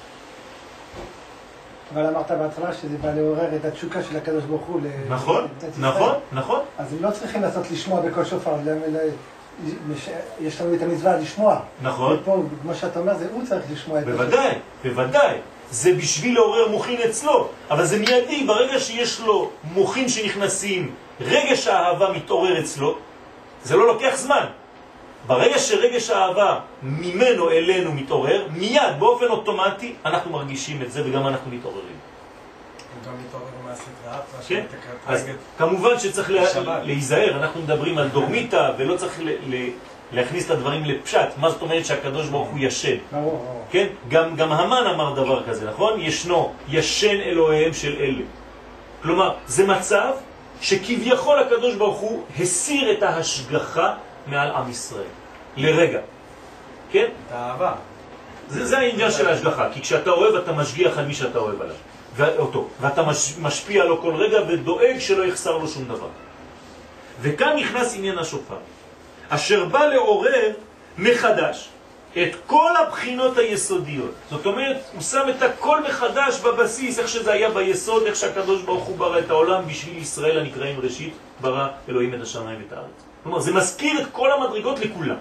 אבל אמרת בהתחלה שזה בא לעורר את התשוקה של הקדוש ברוך הוא. נכון, נכון, נכון. אז הם לא צריכים לעשות לשמוע בכל שופר, יש לנו את המצווה לשמוע. נכון. ופה, כמו שאתה אומר, זה הוא צריך לשמוע את השופר. בוודאי, בוודאי. זה בשביל לעורר מוחין אצלו, אבל זה מיידי, ברגע שיש לו מוחין שנכנסים, רגש האהבה מתעורר אצלו, זה לא לוקח זמן. ברגע שרגש האהבה ממנו אלינו מתעורר, מיד, באופן אוטומטי, אנחנו מרגישים את זה וגם אנחנו מתעוררים. וגם מתעורר מהסטרא אחרא, כן? אז כמובן שצריך להיזהר, אנחנו מדברים על דורמיטה ולא צריך להכניס את הדברים לפשט. מה זאת אומרת שהקדוש ברוך הוא ישן? כן? גם, גם המן אמר דבר כזה, נכון? ישנו, ישן אלוהיהם של אלה. כלומר, זה מצב שכביכול הקדוש ברוך הוא הסיר את ההשגחה מעל עם ישראל. לרגע. כן? את האהבה. זה, זה העניין של ההשגחה, כי כשאתה אוהב אתה משגיח על מי שאתה אוהב עליו. ואותו, ואתה מש, משפיע לו כל רגע ודואג שלא יחסר לו שום דבר. וכאן נכנס עניין השופר, אשר בא לעורר מחדש את כל הבחינות היסודיות. זאת אומרת, הוא שם את הכל מחדש בבסיס, איך שזה היה ביסוד, איך שהקדוש ברוך הוא ברא את העולם בשביל ישראל הנקראים ראשית, ברא אלוהים את השמיים ואת הארץ. כלומר, זה מזכיר את כל המדרגות לכולם.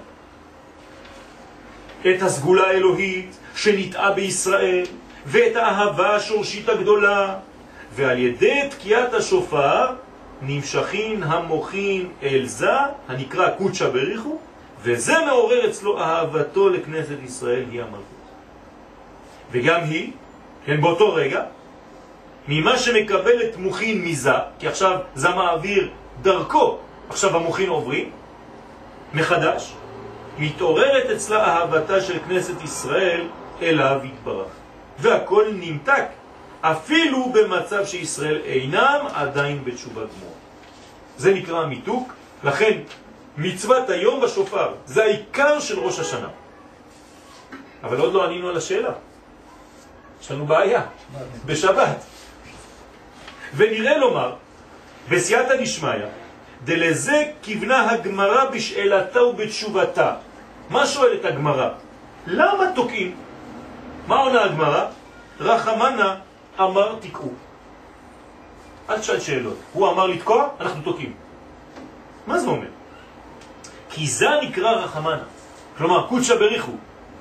את הסגולה האלוהית שנטעה בישראל, ואת האהבה השורשית הגדולה, ועל ידי תקיעת השופר נמשכים המוחים אל זה, הנקרא קודשא בריחו, וזה מעורר אצלו אהבתו לכנסת ישראל, היא המלכות. וגם היא, כן, באותו רגע, ממה שמקבלת מוחין מזה, כי עכשיו זה מעביר דרכו, עכשיו המוחין עוברים, מחדש, מתעוררת אצלה אהבתה של כנסת ישראל אליו יתברך. והכל נמתק, אפילו במצב שישראל אינם עדיין בתשובה גמורה. זה נקרא מיתוק, לכן מצוות היום בשופר, זה העיקר של ראש השנה. אבל עוד לא ענינו על השאלה. יש לנו בעיה, בשבת. ונראה לומר, בסייעתא דשמיא, דלזה כיוונה הגמרא בשאלתה ובתשובתה. מה שואלת הגמרא? למה תוקעים? מה עונה הגמרא? רחמנה אמר תקעו. אל תשאל שאלות. הוא אמר לתקוע, אנחנו תוקעים. מה זה אומר? כי זה נקרא רחמנה. כלומר, קודשא בריחו.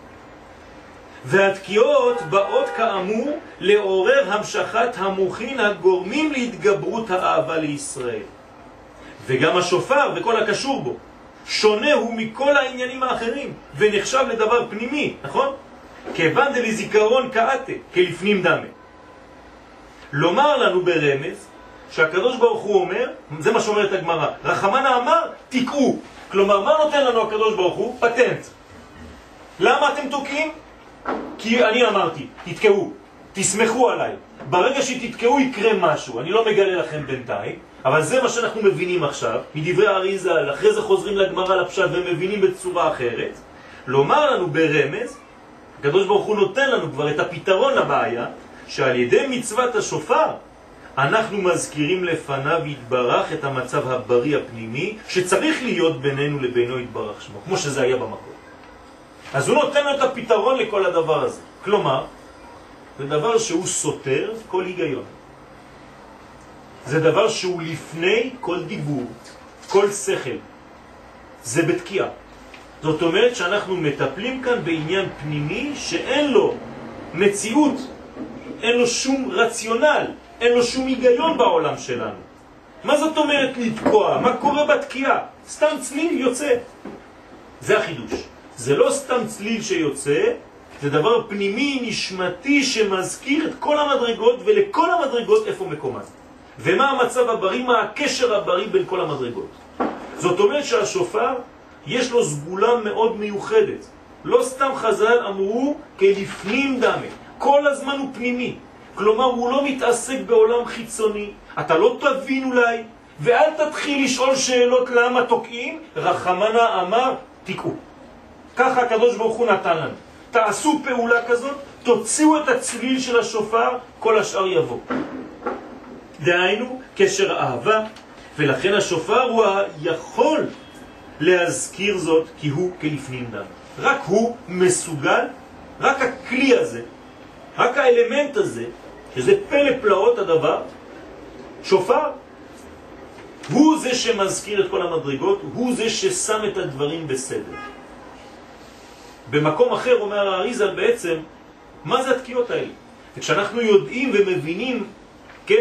והתקיעות באות כאמור לעורר המשכת המוחין הגורמים להתגברות האהבה לישראל. וגם השופר וכל הקשור בו שונה הוא מכל העניינים האחרים ונחשב לדבר פנימי, נכון? כיוון דלזיכרון קאטה, כלפנים דמה. לומר לנו ברמז שהקדוש ברוך הוא אומר, זה מה שאומרת הגמרא, רחמנה אמר תקעו. כלומר, מה נותן לנו הקדוש ברוך הוא? פטנט. למה אתם תוקעים? כי אני אמרתי, תתקעו, תסמכו עליי. ברגע שתתקעו יקרה משהו, אני לא מגלה לכם בינתיים, אבל זה מה שאנחנו מבינים עכשיו, מדברי אריז"ל, אחרי זה חוזרים לגמרא לפשט ומבינים בצורה אחרת. לומר לנו ברמז, הקדוש ברוך הוא נותן לנו כבר את הפתרון לבעיה, שעל ידי מצוות השופר, אנחנו מזכירים לפניו יתברך את המצב הבריא הפנימי, שצריך להיות בינינו לבינו יתברך שמו, כמו שזה היה במקור. אז הוא נותן לנו את הפתרון לכל הדבר הזה. כלומר, זה דבר שהוא סותר כל היגיון. זה דבר שהוא לפני כל דיבור, כל שכל. זה בתקיעה. זאת אומרת שאנחנו מטפלים כאן בעניין פנימי שאין לו מציאות, אין לו שום רציונל, אין לו שום היגיון בעולם שלנו. מה זאת אומרת לתקוע? מה קורה בתקיעה? סתם צליל יוצא. זה החידוש. זה לא סתם צליל שיוצא, זה דבר פנימי, נשמתי, שמזכיר את כל המדרגות, ולכל המדרגות איפה מקומן. ומה המצב הבריא, מה הקשר הבריא בין כל המדרגות. זאת אומרת שהשופר יש לו סגולה מאוד מיוחדת. לא סתם חז"ל אמרו כלפנים דמה. כל הזמן הוא פנימי. כלומר הוא לא מתעסק בעולם חיצוני. אתה לא תבין אולי, ואל תתחיל לשאול שאלות למה תוקעים. רחמנה אמר תיקעו. ככה הקדוש ברוך הוא נתן לנו. תעשו פעולה כזאת, תוציאו את הצליל של השופר, כל השאר יבוא. דהיינו קשר אהבה, ולכן השופר הוא יכול להזכיר זאת, כי הוא כלפנים דם. רק הוא מסוגל, רק הכלי הזה, רק האלמנט הזה, שזה פלא פלאות הדבר, שופר, הוא זה שמזכיר את כל המדרגות, הוא זה ששם את הדברים בסדר. במקום אחר אומר האריז"ל בעצם, מה זה התקיעות האלה? וכשאנחנו יודעים ומבינים, כן,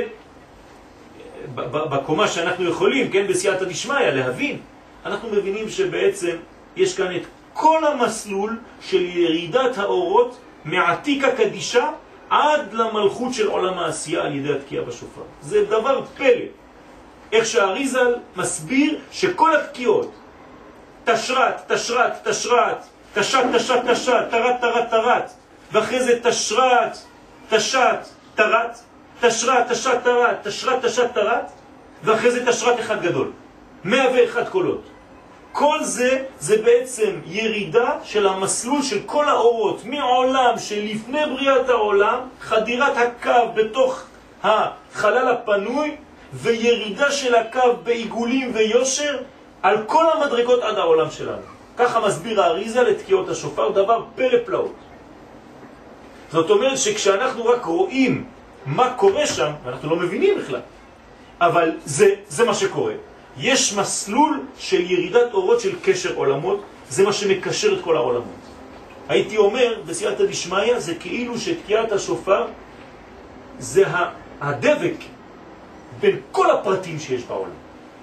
בקומה שאנחנו יכולים, כן, בסייעתא דשמיא, להבין, אנחנו מבינים שבעצם יש כאן את כל המסלול של ירידת האורות מעתיקה קדישה עד למלכות של עולם העשייה על ידי התקיעה בשופר. זה דבר פלא. איך שהאריז"ל מסביר שכל התקיעות, תשרת, תשרת, תשרת, תשת, תשת, תשת, תרת, תרת, תרת, ואחרי זה תשרת, תשת, תרת, תשרת, תשת, תרת, תשרת, תשת, תרת, ואחרי זה תשרת אחד גדול. מאה ואחת קולות. כל זה, זה בעצם ירידה של המסלול של כל האורות, מעולם שלפני בריאת העולם, חדירת הקו בתוך החלל הפנוי, וירידה של הקו בעיגולים ויושר, על כל המדרגות עד העולם שלנו. ככה מסביר האריז"ל לתקיעות השופר, דבר פלא פלאות. זאת אומרת שכשאנחנו רק רואים מה קורה שם, ואנחנו לא מבינים בכלל, אבל זה, זה מה שקורה. יש מסלול של ירידת אורות של קשר עולמות, זה מה שמקשר את כל העולמות. הייתי אומר, בסייעתא דשמיא, זה כאילו שתקיעת השופר זה הדבק בין כל הפרטים שיש בעולם.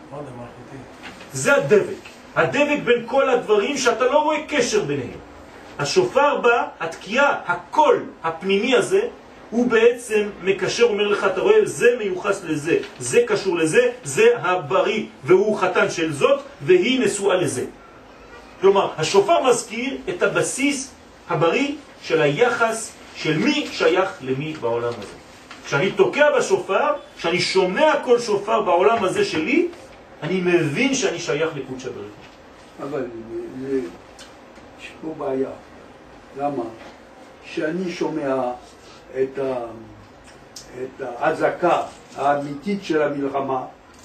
זה הדבק. הדבק בין כל הדברים שאתה לא רואה קשר ביניהם. השופר בא, התקיעה, הקול הפנימי הזה, הוא בעצם מקשר, אומר לך, אתה רואה, זה מיוחס לזה, זה קשור לזה, זה הבריא, והוא חתן של זאת, והיא נשואה לזה. כלומר, השופר מזכיר את הבסיס הבריא של היחס של מי שייך למי בעולם הזה. כשאני תוקע בשופר, כשאני שומע כל שופר בעולם הזה שלי, אני מבין שאני שייך לקודש הבריך. אבל זה, יש פה בעיה. למה? שאני שומע את, ה, את ההזקה האמיתית של המלחמה,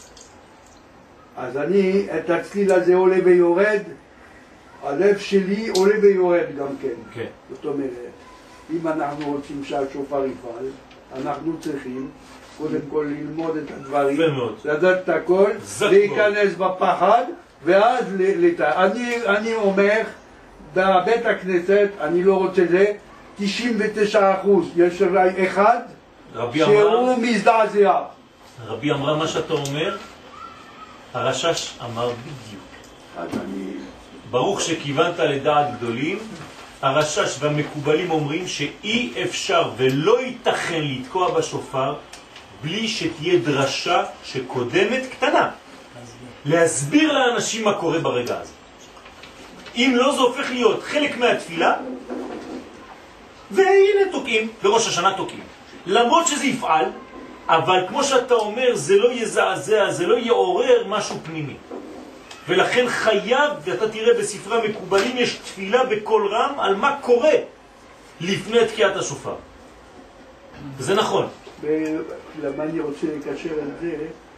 אז אני, את הצליל הזה עולה ויורד, הלב שלי עולה ויורד גם כן. כן. זאת אומרת, אם אנחנו רוצים שהשופר יפעל, אנחנו צריכים קודם כל ללמוד את הדברים, לדעת את הכל, להיכנס בפחד, ואז לת... אני, אני אומר, בבית הכנסת, אני לא רוצה זה, תשעים ותשעה אחוז, יש אולי אחד שהוא מזדעזע. רבי אמרה מה שאתה אומר, הרשש אמר בדיוק. אז אני... ברוך שכיוונת לדעת גדולים, הרשש והמקובלים אומרים שאי אפשר ולא ייתכן לתקוע בשופר בלי שתהיה דרשה שקודמת קטנה. להסביר לאנשים מה קורה ברגע הזה. אם לא, זה הופך להיות חלק מהתפילה, והנה תוקעים, בראש השנה תוקעים. למרות שזה יפעל, אבל כמו שאתה אומר, זה לא יזעזע, זה לא יעורר משהו פנימי. ולכן חייב, ואתה תראה בספרי המקובלים, יש תפילה בכל רם על מה קורה לפני תקיעת השופר. זה נכון. למה אני רוצה לקשר את זה,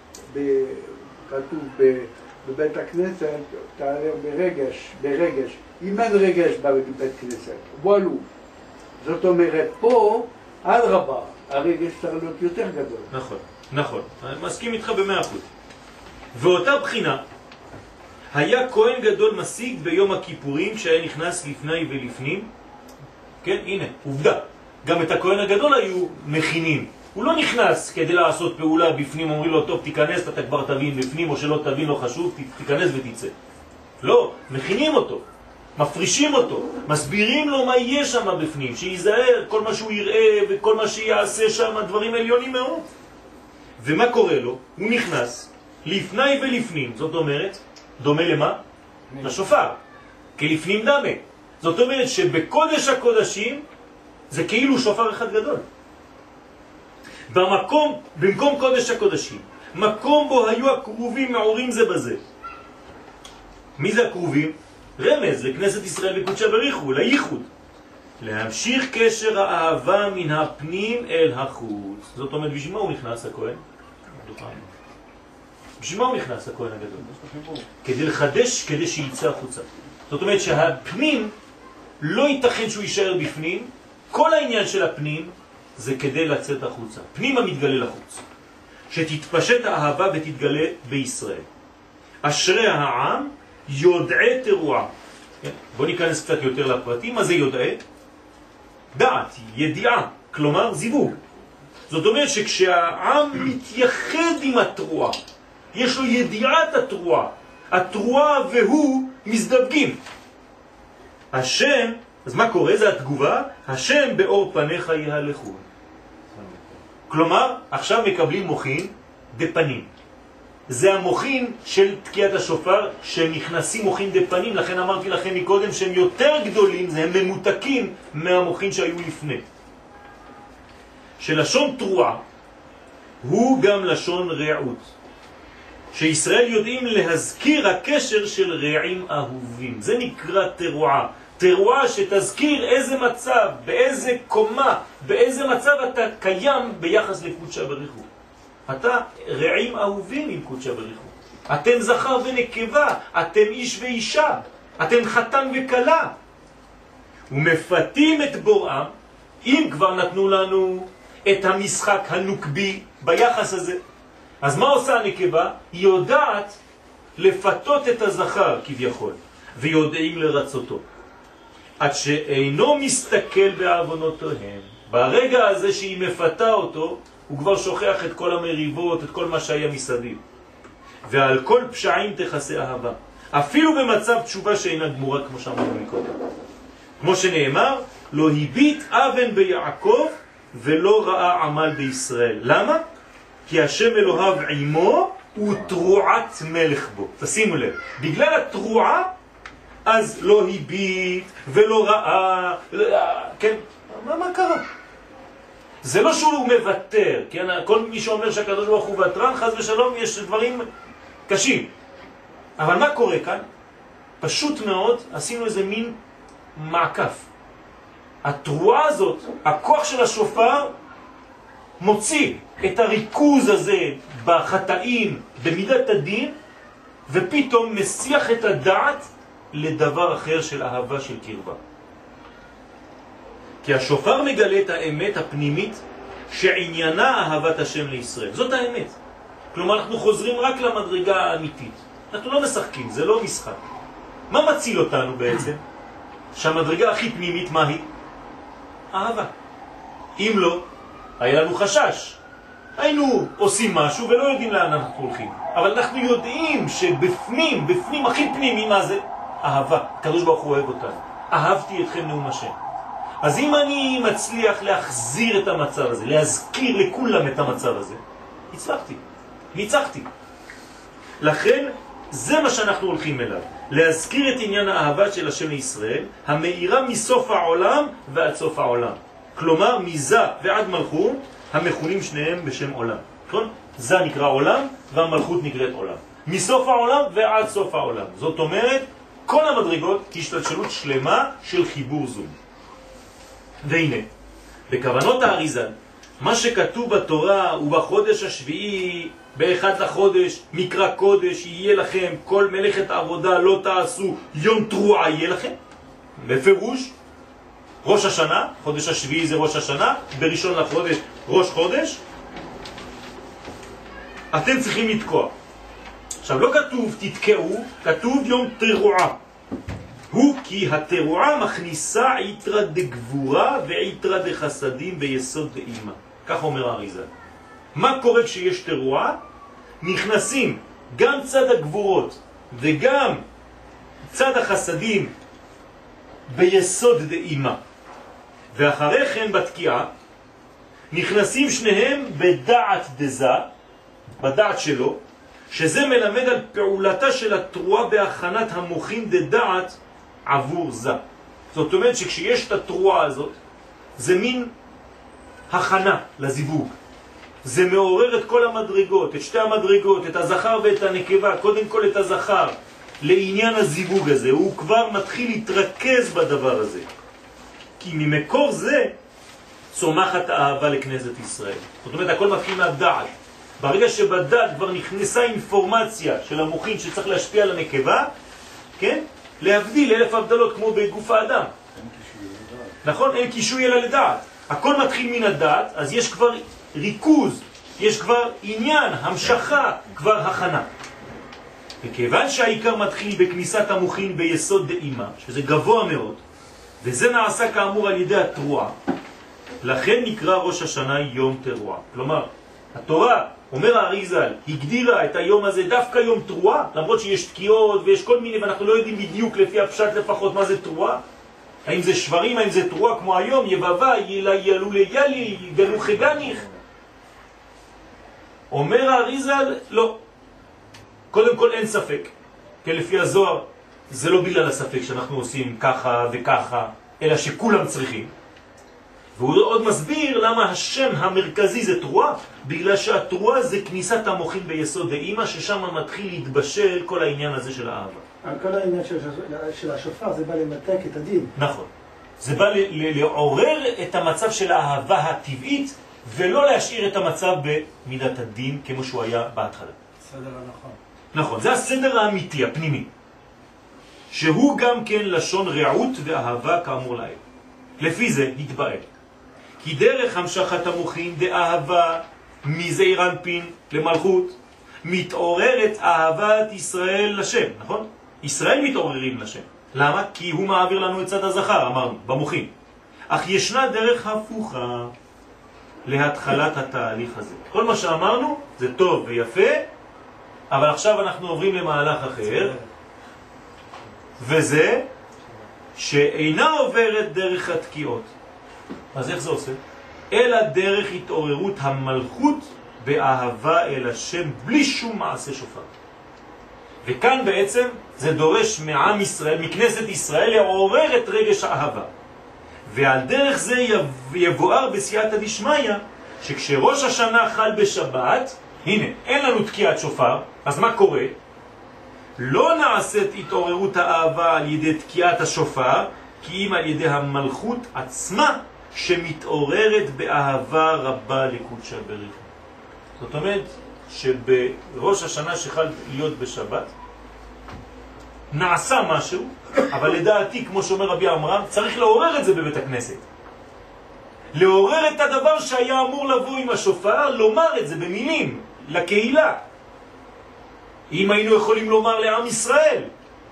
כתוב בבית הכנסת, תעלה ברגש, ברגש. אם אין רגש בבית כנסת, וואלו. זאת אומרת, פה, על רבה, הרגש צריך להיות יותר גדול. נכון, נכון. אני מסכים איתך במאה אחוז. ואותה בחינה, היה כהן גדול משיג ביום הכיפורים שהיה נכנס לפני ולפנים. כן, הנה, עובדה. גם את הכהן הגדול היו מכינים. הוא לא נכנס כדי לעשות פעולה בפנים, אומרים לו, טוב, תיכנס, אתה כבר תבין בפנים, או שלא תבין, לא חשוב, תיכנס ותצא. לא, מכינים אותו, מפרישים אותו, מסבירים לו מה יהיה שם בפנים, שיזהר כל מה שהוא יראה וכל מה שיעשה שם, דברים עליונים מאוד. ומה קורה לו? הוא נכנס לפני ולפנים, זאת אומרת, דומה למה? לשופר, כלפנים דמה. זאת אומרת שבקודש הקודשים זה כאילו שופר אחד גדול. במקום, במקום קודש הקודשים, מקום בו היו הקרובים מעורים זה בזה. מי זה הקרובים? רמז לכנסת ישראל וקודשה בריחו, לייחוד. להמשיך קשר האהבה מן הפנים אל החוץ. זאת אומרת, בשביל מה הוא נכנס הכהן? בשביל מה הוא נכנס הכהן הגדול? כדי לחדש, כדי שיצא החוצה. זאת אומרת שהפנים לא ייתכן שהוא יישאר בפנים, כל העניין של הפנים זה כדי לצאת החוצה. פנים המתגלה לחוץ. שתתפשט האהבה ותתגלה בישראל. אשרי העם יודעי תרועה. בוא ניכנס קצת יותר לפרטים. מה זה יודעי? דעת, ידיעה, כלומר זיווג. זאת אומרת שכשהעם מתייחד עם התרועה, יש לו ידיעת התרועה, התרועה והוא מזדווגים. השם, אז מה קורה? זה התגובה, השם באור פניך יהלכו. כלומר, עכשיו מקבלים מוחין דפנים. זה המוחין של תקיעת השופר, שנכנסים מוחין דפנים, לכן אמרתי לכם מקודם שהם יותר גדולים, הם ממותקים מהמוחין שהיו לפני. שלשון תרועה הוא גם לשון רעות. שישראל יודעים להזכיר הקשר של רעים אהובים. זה נקרא תרועה. תרועה שתזכיר איזה מצב, באיזה קומה, באיזה מצב אתה קיים ביחס לקודשה בריחו. אתה רעים אהובים עם קודשה בריחו. אתם זכר ונקבה, אתם איש ואישה, אתם חתן וכלה. ומפתים את בוראם, אם כבר נתנו לנו את המשחק הנוקבי ביחס הזה. אז מה עושה הנקבה? היא יודעת לפתות את הזכר כביכול, ויודעים לרצותו. עד שאינו מסתכל בעוונותיהם. ברגע הזה שהיא מפתה אותו, הוא כבר שוכח את כל המריבות, את כל מה שהיה מסביב. ועל כל פשעים תכסה אהבה. אפילו במצב תשובה שאינה גמורה, כמו שאמרנו מקודם. כמו שנאמר, לא הביט אבן ביעקב ולא ראה עמל בישראל. למה? כי השם אלוהיו עמו ותרועת מלך בו. תשימו לב, בגלל התרועה, אז לא הביט ולא ראה, כן? מה, מה קרה? זה לא שהוא מבטר, כן? כל מי שאומר שהקדוש ברוך הוא וטרן, חס ושלום, יש דברים קשים. אבל מה קורה כאן? פשוט מאוד עשינו איזה מין מעקף. התרועה הזאת, הכוח של השופר, מוציא את הריכוז הזה בחטאים, במידת הדין, ופתאום מסיח את הדעת לדבר אחר של אהבה של קרבה. כי השופר מגלה את האמת הפנימית שעניינה אהבת השם לישראל. זאת האמת. כלומר, אנחנו חוזרים רק למדרגה האמיתית. אנחנו לא משחקים, זה לא משחק. מה מציל אותנו בעצם? שהמדרגה הכי פנימית, מה היא? אהבה. אם לא, היה לנו חשש. היינו עושים משהו ולא יודעים לאן אנחנו הולכים. אבל אנחנו יודעים שבפנים, בפנים הכי פנימי, מה זה? אהבה. הקדוש ברוך הוא אוהב אותנו. אהבתי אתכם נאום השם. אז אם אני מצליח להחזיר את המצב הזה, להזכיר לכולם את המצב הזה, הצלחתי, ניצחתי. לכן זה מה שאנחנו הולכים אליו, להזכיר את עניין האהבה של השם לישראל, המאירה מסוף העולם ועד סוף העולם. כלומר, מזה ועד מלכות, המכונים שניהם בשם עולם. נכון? זה נקרא עולם והמלכות נקראת עולם. מסוף העולם ועד סוף העולם. זאת אומרת, כל המדרגות השתלשלות שלמה של חיבור זום. והנה, בכוונות האריז"ל, מה שכתוב בתורה ובחודש השביעי, באחד לחודש, מקרא קודש, יהיה לכם, כל מלאכת עבודה לא תעשו, יום תרועה יהיה לכם. בפירוש, ראש השנה, חודש השביעי זה ראש השנה, בראשון לחודש, ראש חודש, אתם צריכים לתקוע. עכשיו, לא כתוב תתקעו, כתוב יום תרועה. הוא כי התרועה מכניסה עיתרא דגבורה ועיתרא דחסדים ביסוד דאימה. כך אומר האריזה. מה קורה כשיש תרועה? נכנסים גם צד הגבורות וגם צד החסדים ביסוד דאימה. ואחרי כן בתקיעה נכנסים שניהם בדעת דזה, בדעת שלו, שזה מלמד על פעולתה של התרועה בהכנת המוחין דדעת עבור זה. זאת אומרת שכשיש את התרועה הזאת, זה מין הכנה לזיווג. זה מעורר את כל המדרגות, את שתי המדרגות, את הזכר ואת הנקבה, קודם כל את הזכר, לעניין הזיווג הזה. הוא כבר מתחיל להתרכז בדבר הזה. כי ממקור זה צומחת האהבה לכנסת ישראל. זאת אומרת, הכל מתחיל מהדעת. ברגע שבדעת כבר נכנסה אינפורמציה של המוחין שצריך להשפיע על הנקבה, כן? להבדיל אלף הבדלות כמו בגוף האדם. נכון? אין קישוי אלא לדעת. הכל מתחיל מן הדעת, אז יש כבר ריכוז, יש כבר עניין, המשכה, כבר הכנה. וכיוון שהעיקר מתחיל בכניסת המוחין ביסוד דאימה, שזה גבוה מאוד, וזה נעשה כאמור על ידי התרועה, לכן נקרא ראש השנה יום תרועה. כלומר, התורה, אומר האריז"ל, הגדירה את היום הזה דווקא יום תרועה, למרות שיש תקיעות ויש כל מיני, ואנחנו לא יודעים בדיוק לפי הפשט לפחות מה זה תרועה. האם זה שברים, האם זה תרועה כמו היום, יבבה, ילה ילו לילי, יגלו חגניך. אומר האריז"ל, לא. קודם כל אין ספק, כי לפי הזוהר זה לא בגלל הספק שאנחנו עושים ככה וככה, אלא שכולם צריכים. והוא עוד מסביר למה השם המרכזי זה תרועה, בגלל שהתרועה זה כניסת המוחין ביסוד דאימא, ששם מתחיל להתבשל כל העניין הזה של האהבה. כל העניין של, של השופר זה בא למתק את הדין. נכון. זה בא לעורר את המצב של האהבה הטבעית, ולא להשאיר את המצב במידת הדין כמו שהוא היה בהתחלה. סדר הנכון. נכון, זה הסדר האמיתי, הפנימי. שהוא גם כן לשון רעות ואהבה כאמור להם. לפי זה התבאר. כי דרך המשכת המוחין דאהבה מזעיר אנפין למלכות מתעוררת אהבת ישראל לשם, נכון? ישראל מתעוררים לשם. למה? כי הוא מעביר לנו את צד הזכר, אמרנו, במוחין. אך ישנה דרך הפוכה להתחלת התהליך הזה. כל מה שאמרנו זה טוב ויפה, אבל עכשיו אנחנו עוברים למהלך אחר, וזה שאינה עוברת דרך התקיעות. אז איך זה עושה? אלא דרך התעוררות המלכות באהבה אל השם בלי שום מעשה שופר. וכאן בעצם זה דורש מעם ישראל, מכנסת ישראל, לעורר את רגש האהבה. ועל דרך זה יבואר בסייעתא דשמיא, שכשראש השנה חל בשבת, הנה, אין לנו תקיעת שופר, אז מה קורה? לא נעשית התעוררות האהבה על ידי תקיעת השופר, כי אם על ידי המלכות עצמה שמתעוררת באהבה רבה לקודשא בריך. זאת אומרת שבראש השנה שחל להיות בשבת נעשה משהו, אבל לדעתי, כמו שאומר רבי עמרם, צריך לעורר את זה בבית הכנסת. לעורר את הדבר שהיה אמור לבוא עם השופר, לומר את זה במילים, לקהילה. אם היינו יכולים לומר לעם ישראל,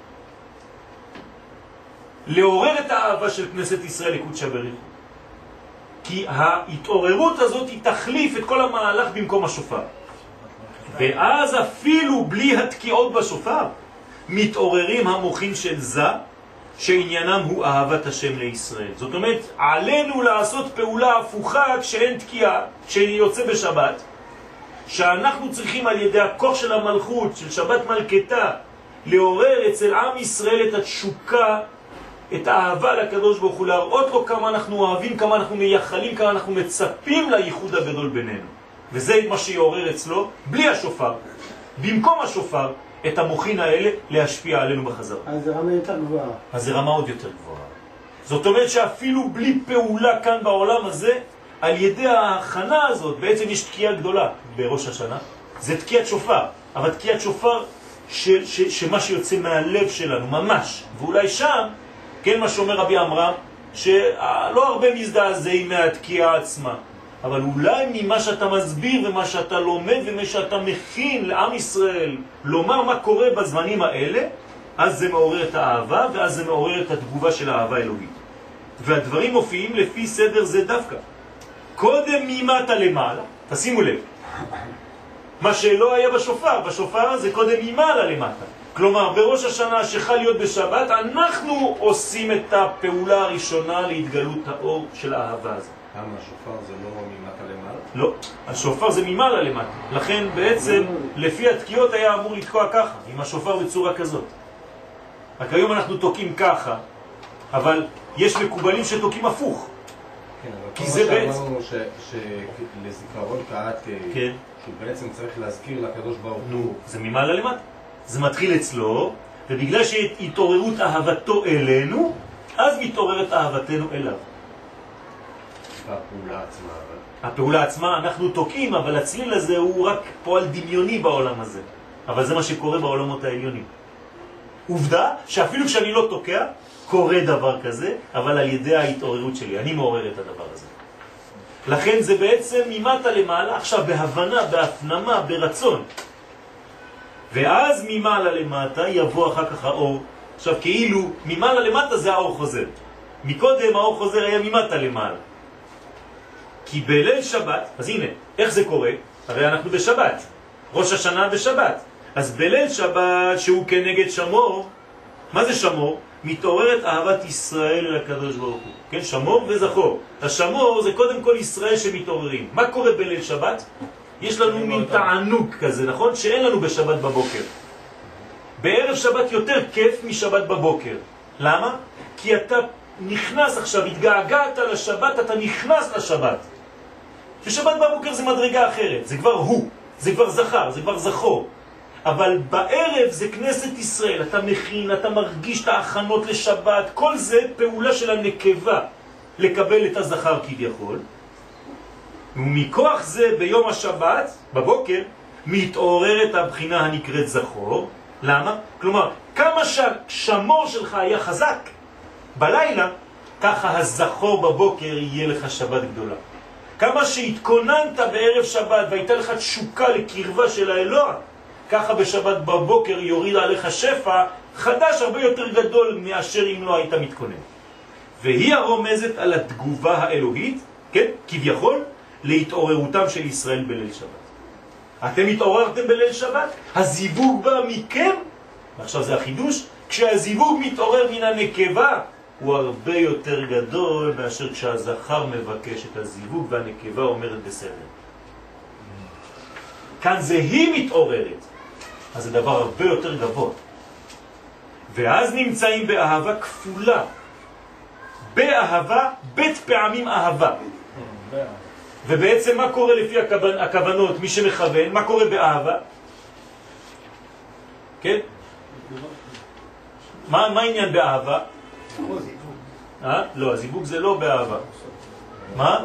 לעורר את האהבה של כנסת ישראל לקודשא בריך. כי ההתעוררות הזאת היא תחליף את כל המהלך במקום השופר. ואז אפילו בלי התקיעות בשופר, מתעוררים המוחים של זה, שעניינם הוא אהבת השם לישראל. זאת אומרת, עלינו לעשות פעולה הפוכה כשאין תקיעה, כשיוצא בשבת, שאנחנו צריכים על ידי הכוח של המלכות, של שבת מלכתה, לעורר אצל עם ישראל את התשוקה, את האהבה לקדוש ברוך הוא, להראות לו כמה אנחנו אוהבים, כמה אנחנו מייחלים, כמה אנחנו מצפים לייחוד הגדול בינינו. וזה מה שיעורר אצלו, בלי השופר, במקום השופר, את המוחין האלה להשפיע עלינו בחזרה. אז זה רמה יותר גבוהה. אז זה רמה עוד יותר גבוהה. זאת אומרת שאפילו בלי פעולה כאן בעולם הזה, על ידי ההכנה הזאת, בעצם יש תקיעה גדולה בראש השנה. זה תקיעת שופר, אבל תקיעת שופר ש, ש, שמה שיוצא מהלב שלנו, ממש. ואולי שם, כן מה שאומר רבי עמרם, שלא הרבה מזדעזעים מהתקיעה עצמה. אבל אולי ממה שאתה מסביר ומה שאתה לומד ומה שאתה מכין לעם ישראל, לומר מה קורה בזמנים האלה, אז זה מעורר את האהבה, ואז זה מעורר את התגובה של האהבה האלוהית. והדברים מופיעים לפי סדר זה דווקא. קודם ממטה למעלה, תשימו לב, מה שלא היה בשופר, בשופר זה קודם ממעלה למטה. כלומר, בראש השנה שחל להיות בשבת, אנחנו עושים את הפעולה הראשונה להתגלות האור של האהבה הזאת. למה השופר זה לא ממטה למעלה? לא, השופר זה ממעלה למטה. לכן בעצם, לפי התקיעות היה אמור לתקוע ככה, עם השופר בצורה כזאת. רק היום אנחנו תוקעים ככה, אבל יש מקובלים שתוקעים הפוך. כן, אבל כי כל זה מה בעצם... שאמרנו שלזיכרון קהת, כן. שהוא בעצם צריך להזכיר לקדוש ברוך נו, הוא. זה ממעלה למטה. זה מתחיל אצלו, ובגלל שהתעוררות אהבתו אלינו, אז מתעוררת אהבתנו אליו. והפעולה עצמה, אבל... הפעולה עצמה אנחנו תוקעים, אבל הצליל הזה הוא רק פועל דמיוני בעולם הזה. אבל זה מה שקורה בעולמות העליונים. עובדה שאפילו כשאני לא תוקע, קורה דבר כזה, אבל על ידי ההתעוררות שלי. אני מעורר את הדבר הזה. לכן זה בעצם ממטה למעלה, עכשיו בהבנה, בהפנמה, ברצון. ואז ממעלה למטה יבוא אחר כך האור. עכשיו כאילו ממעלה למטה זה האור חוזר. מקודם האור חוזר היה ממטה למעלה. כי בליל שבת, אז הנה, איך זה קורה? הרי אנחנו בשבת, ראש השנה בשבת. אז בליל שבת שהוא כנגד שמור, מה זה שמור? מתעוררת אהבת ישראל אל הקדוש ברוך הוא. כן, שמור וזכור. השמור זה קודם כל ישראל שמתעוררים. מה קורה בליל שבת? יש לנו מין תענוג כזה, נכון? שאין לנו בשבת בבוקר. בערב שבת יותר כיף משבת בבוקר. למה? כי אתה נכנס עכשיו, התגעגעת לשבת, אתה נכנס לשבת. ששבת בבוקר זה מדרגה אחרת, זה כבר הוא, זה כבר זכר, זה כבר זכור. אבל בערב זה כנסת ישראל, אתה מכין, אתה מרגיש את ההכנות לשבת, כל זה פעולה של הנקבה לקבל את הזכר כביכול. ומכוח זה ביום השבת, בבוקר, מתעוררת הבחינה הנקראת זכור. למה? כלומר, כמה שהשמור שלך היה חזק בלילה, ככה הזכור בבוקר יהיה לך שבת גדולה. כמה שהתכוננת בערב שבת והייתה לך תשוקה לקרבה של האלוה, ככה בשבת בבוקר יוריד עליך שפע חדש הרבה יותר גדול מאשר אם לא היית מתכונן. והיא הרומזת על התגובה האלוהית, כן, כביכול, להתעוררותם של ישראל בליל שבת. אתם התעוררתם בליל שבת, הזיווג בא מכם, ועכשיו זה החידוש, כשהזיווג מתעורר מן הנקבה, הוא הרבה יותר גדול מאשר כשהזכר מבקש את הזיווג והנקבה אומרת בסדר. כאן זה היא מתעוררת, אז זה דבר הרבה יותר גבוה. ואז נמצאים באהבה כפולה. באהבה, בית פעמים אהבה. ובעצם מה קורה לפי הכוונ... הכוונות, מי שמכוון, מה קורה באהבה? כן? מה, מה העניין באהבה? אה? לא, הזיווג זה לא באהבה. מה?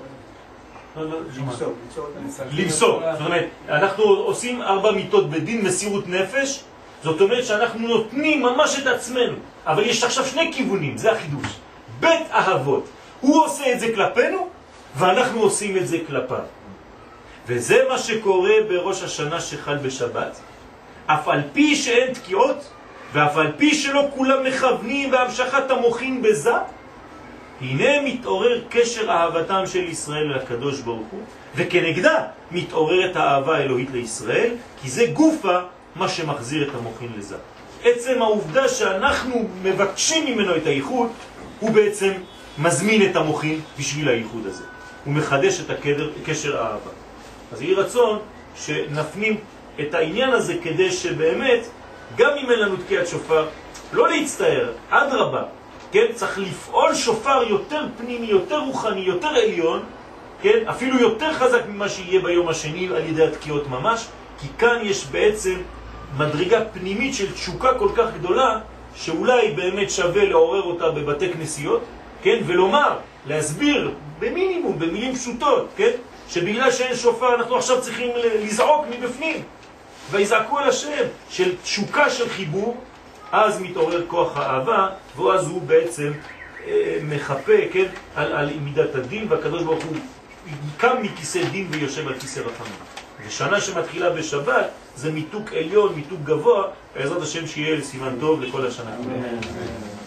למסור. זאת אומרת, אנחנו עושים ארבע מיתות בדין, מסירות נפש, זאת אומרת שאנחנו נותנים ממש את עצמנו. אבל יש עכשיו שני כיוונים, זה החידוש. בית אהבות. הוא עושה את זה כלפינו, ואנחנו עושים את זה כלפיו. וזה מה שקורה בראש השנה שחל בשבת. אף על פי שאין תקיעות, ואף על פי שלא כולם מכוונים והמשכת המוחין בזה, הנה מתעורר קשר אהבתם של ישראל לקדוש ברוך הוא, וכנגדה מתעוררת האהבה האלוהית לישראל, כי זה גופה מה שמחזיר את המוחין לזה. עצם העובדה שאנחנו מבקשים ממנו את הייחוד, הוא בעצם מזמין את המוחין בשביל הייחוד הזה. הוא מחדש את הקשר האהבה. אז יהי רצון שנפנים את העניין הזה כדי שבאמת, גם אם אין לנו תקיעת שופר, לא להצטער, עד רבה. כן? צריך לפעול שופר יותר פנימי, יותר רוחני, יותר עליון, כן? אפילו יותר חזק ממה שיהיה ביום השני על ידי התקיעות ממש, כי כאן יש בעצם מדרגה פנימית של תשוקה כל כך גדולה, שאולי באמת שווה לעורר אותה בבתי כנסיות, כן? ולומר, להסביר במינימום, במילים פשוטות, כן? שבגלל שאין שופר אנחנו עכשיו צריכים לזעוק מבפנים, ויזעקו אל השם, של תשוקה של חיבור, אז מתעורר כוח האהבה, ואז הוא בעצם אה, מחפה, כן, על, על מידת הדין, והקדוש ברוך הוא קם מכיסא דין ויושב על כיסא רחמים. ושנה שמתחילה בשבת זה מיתוק עליון, מיתוק גבוה, בעזרת השם שיהיה לסימן טוב לכל השנה.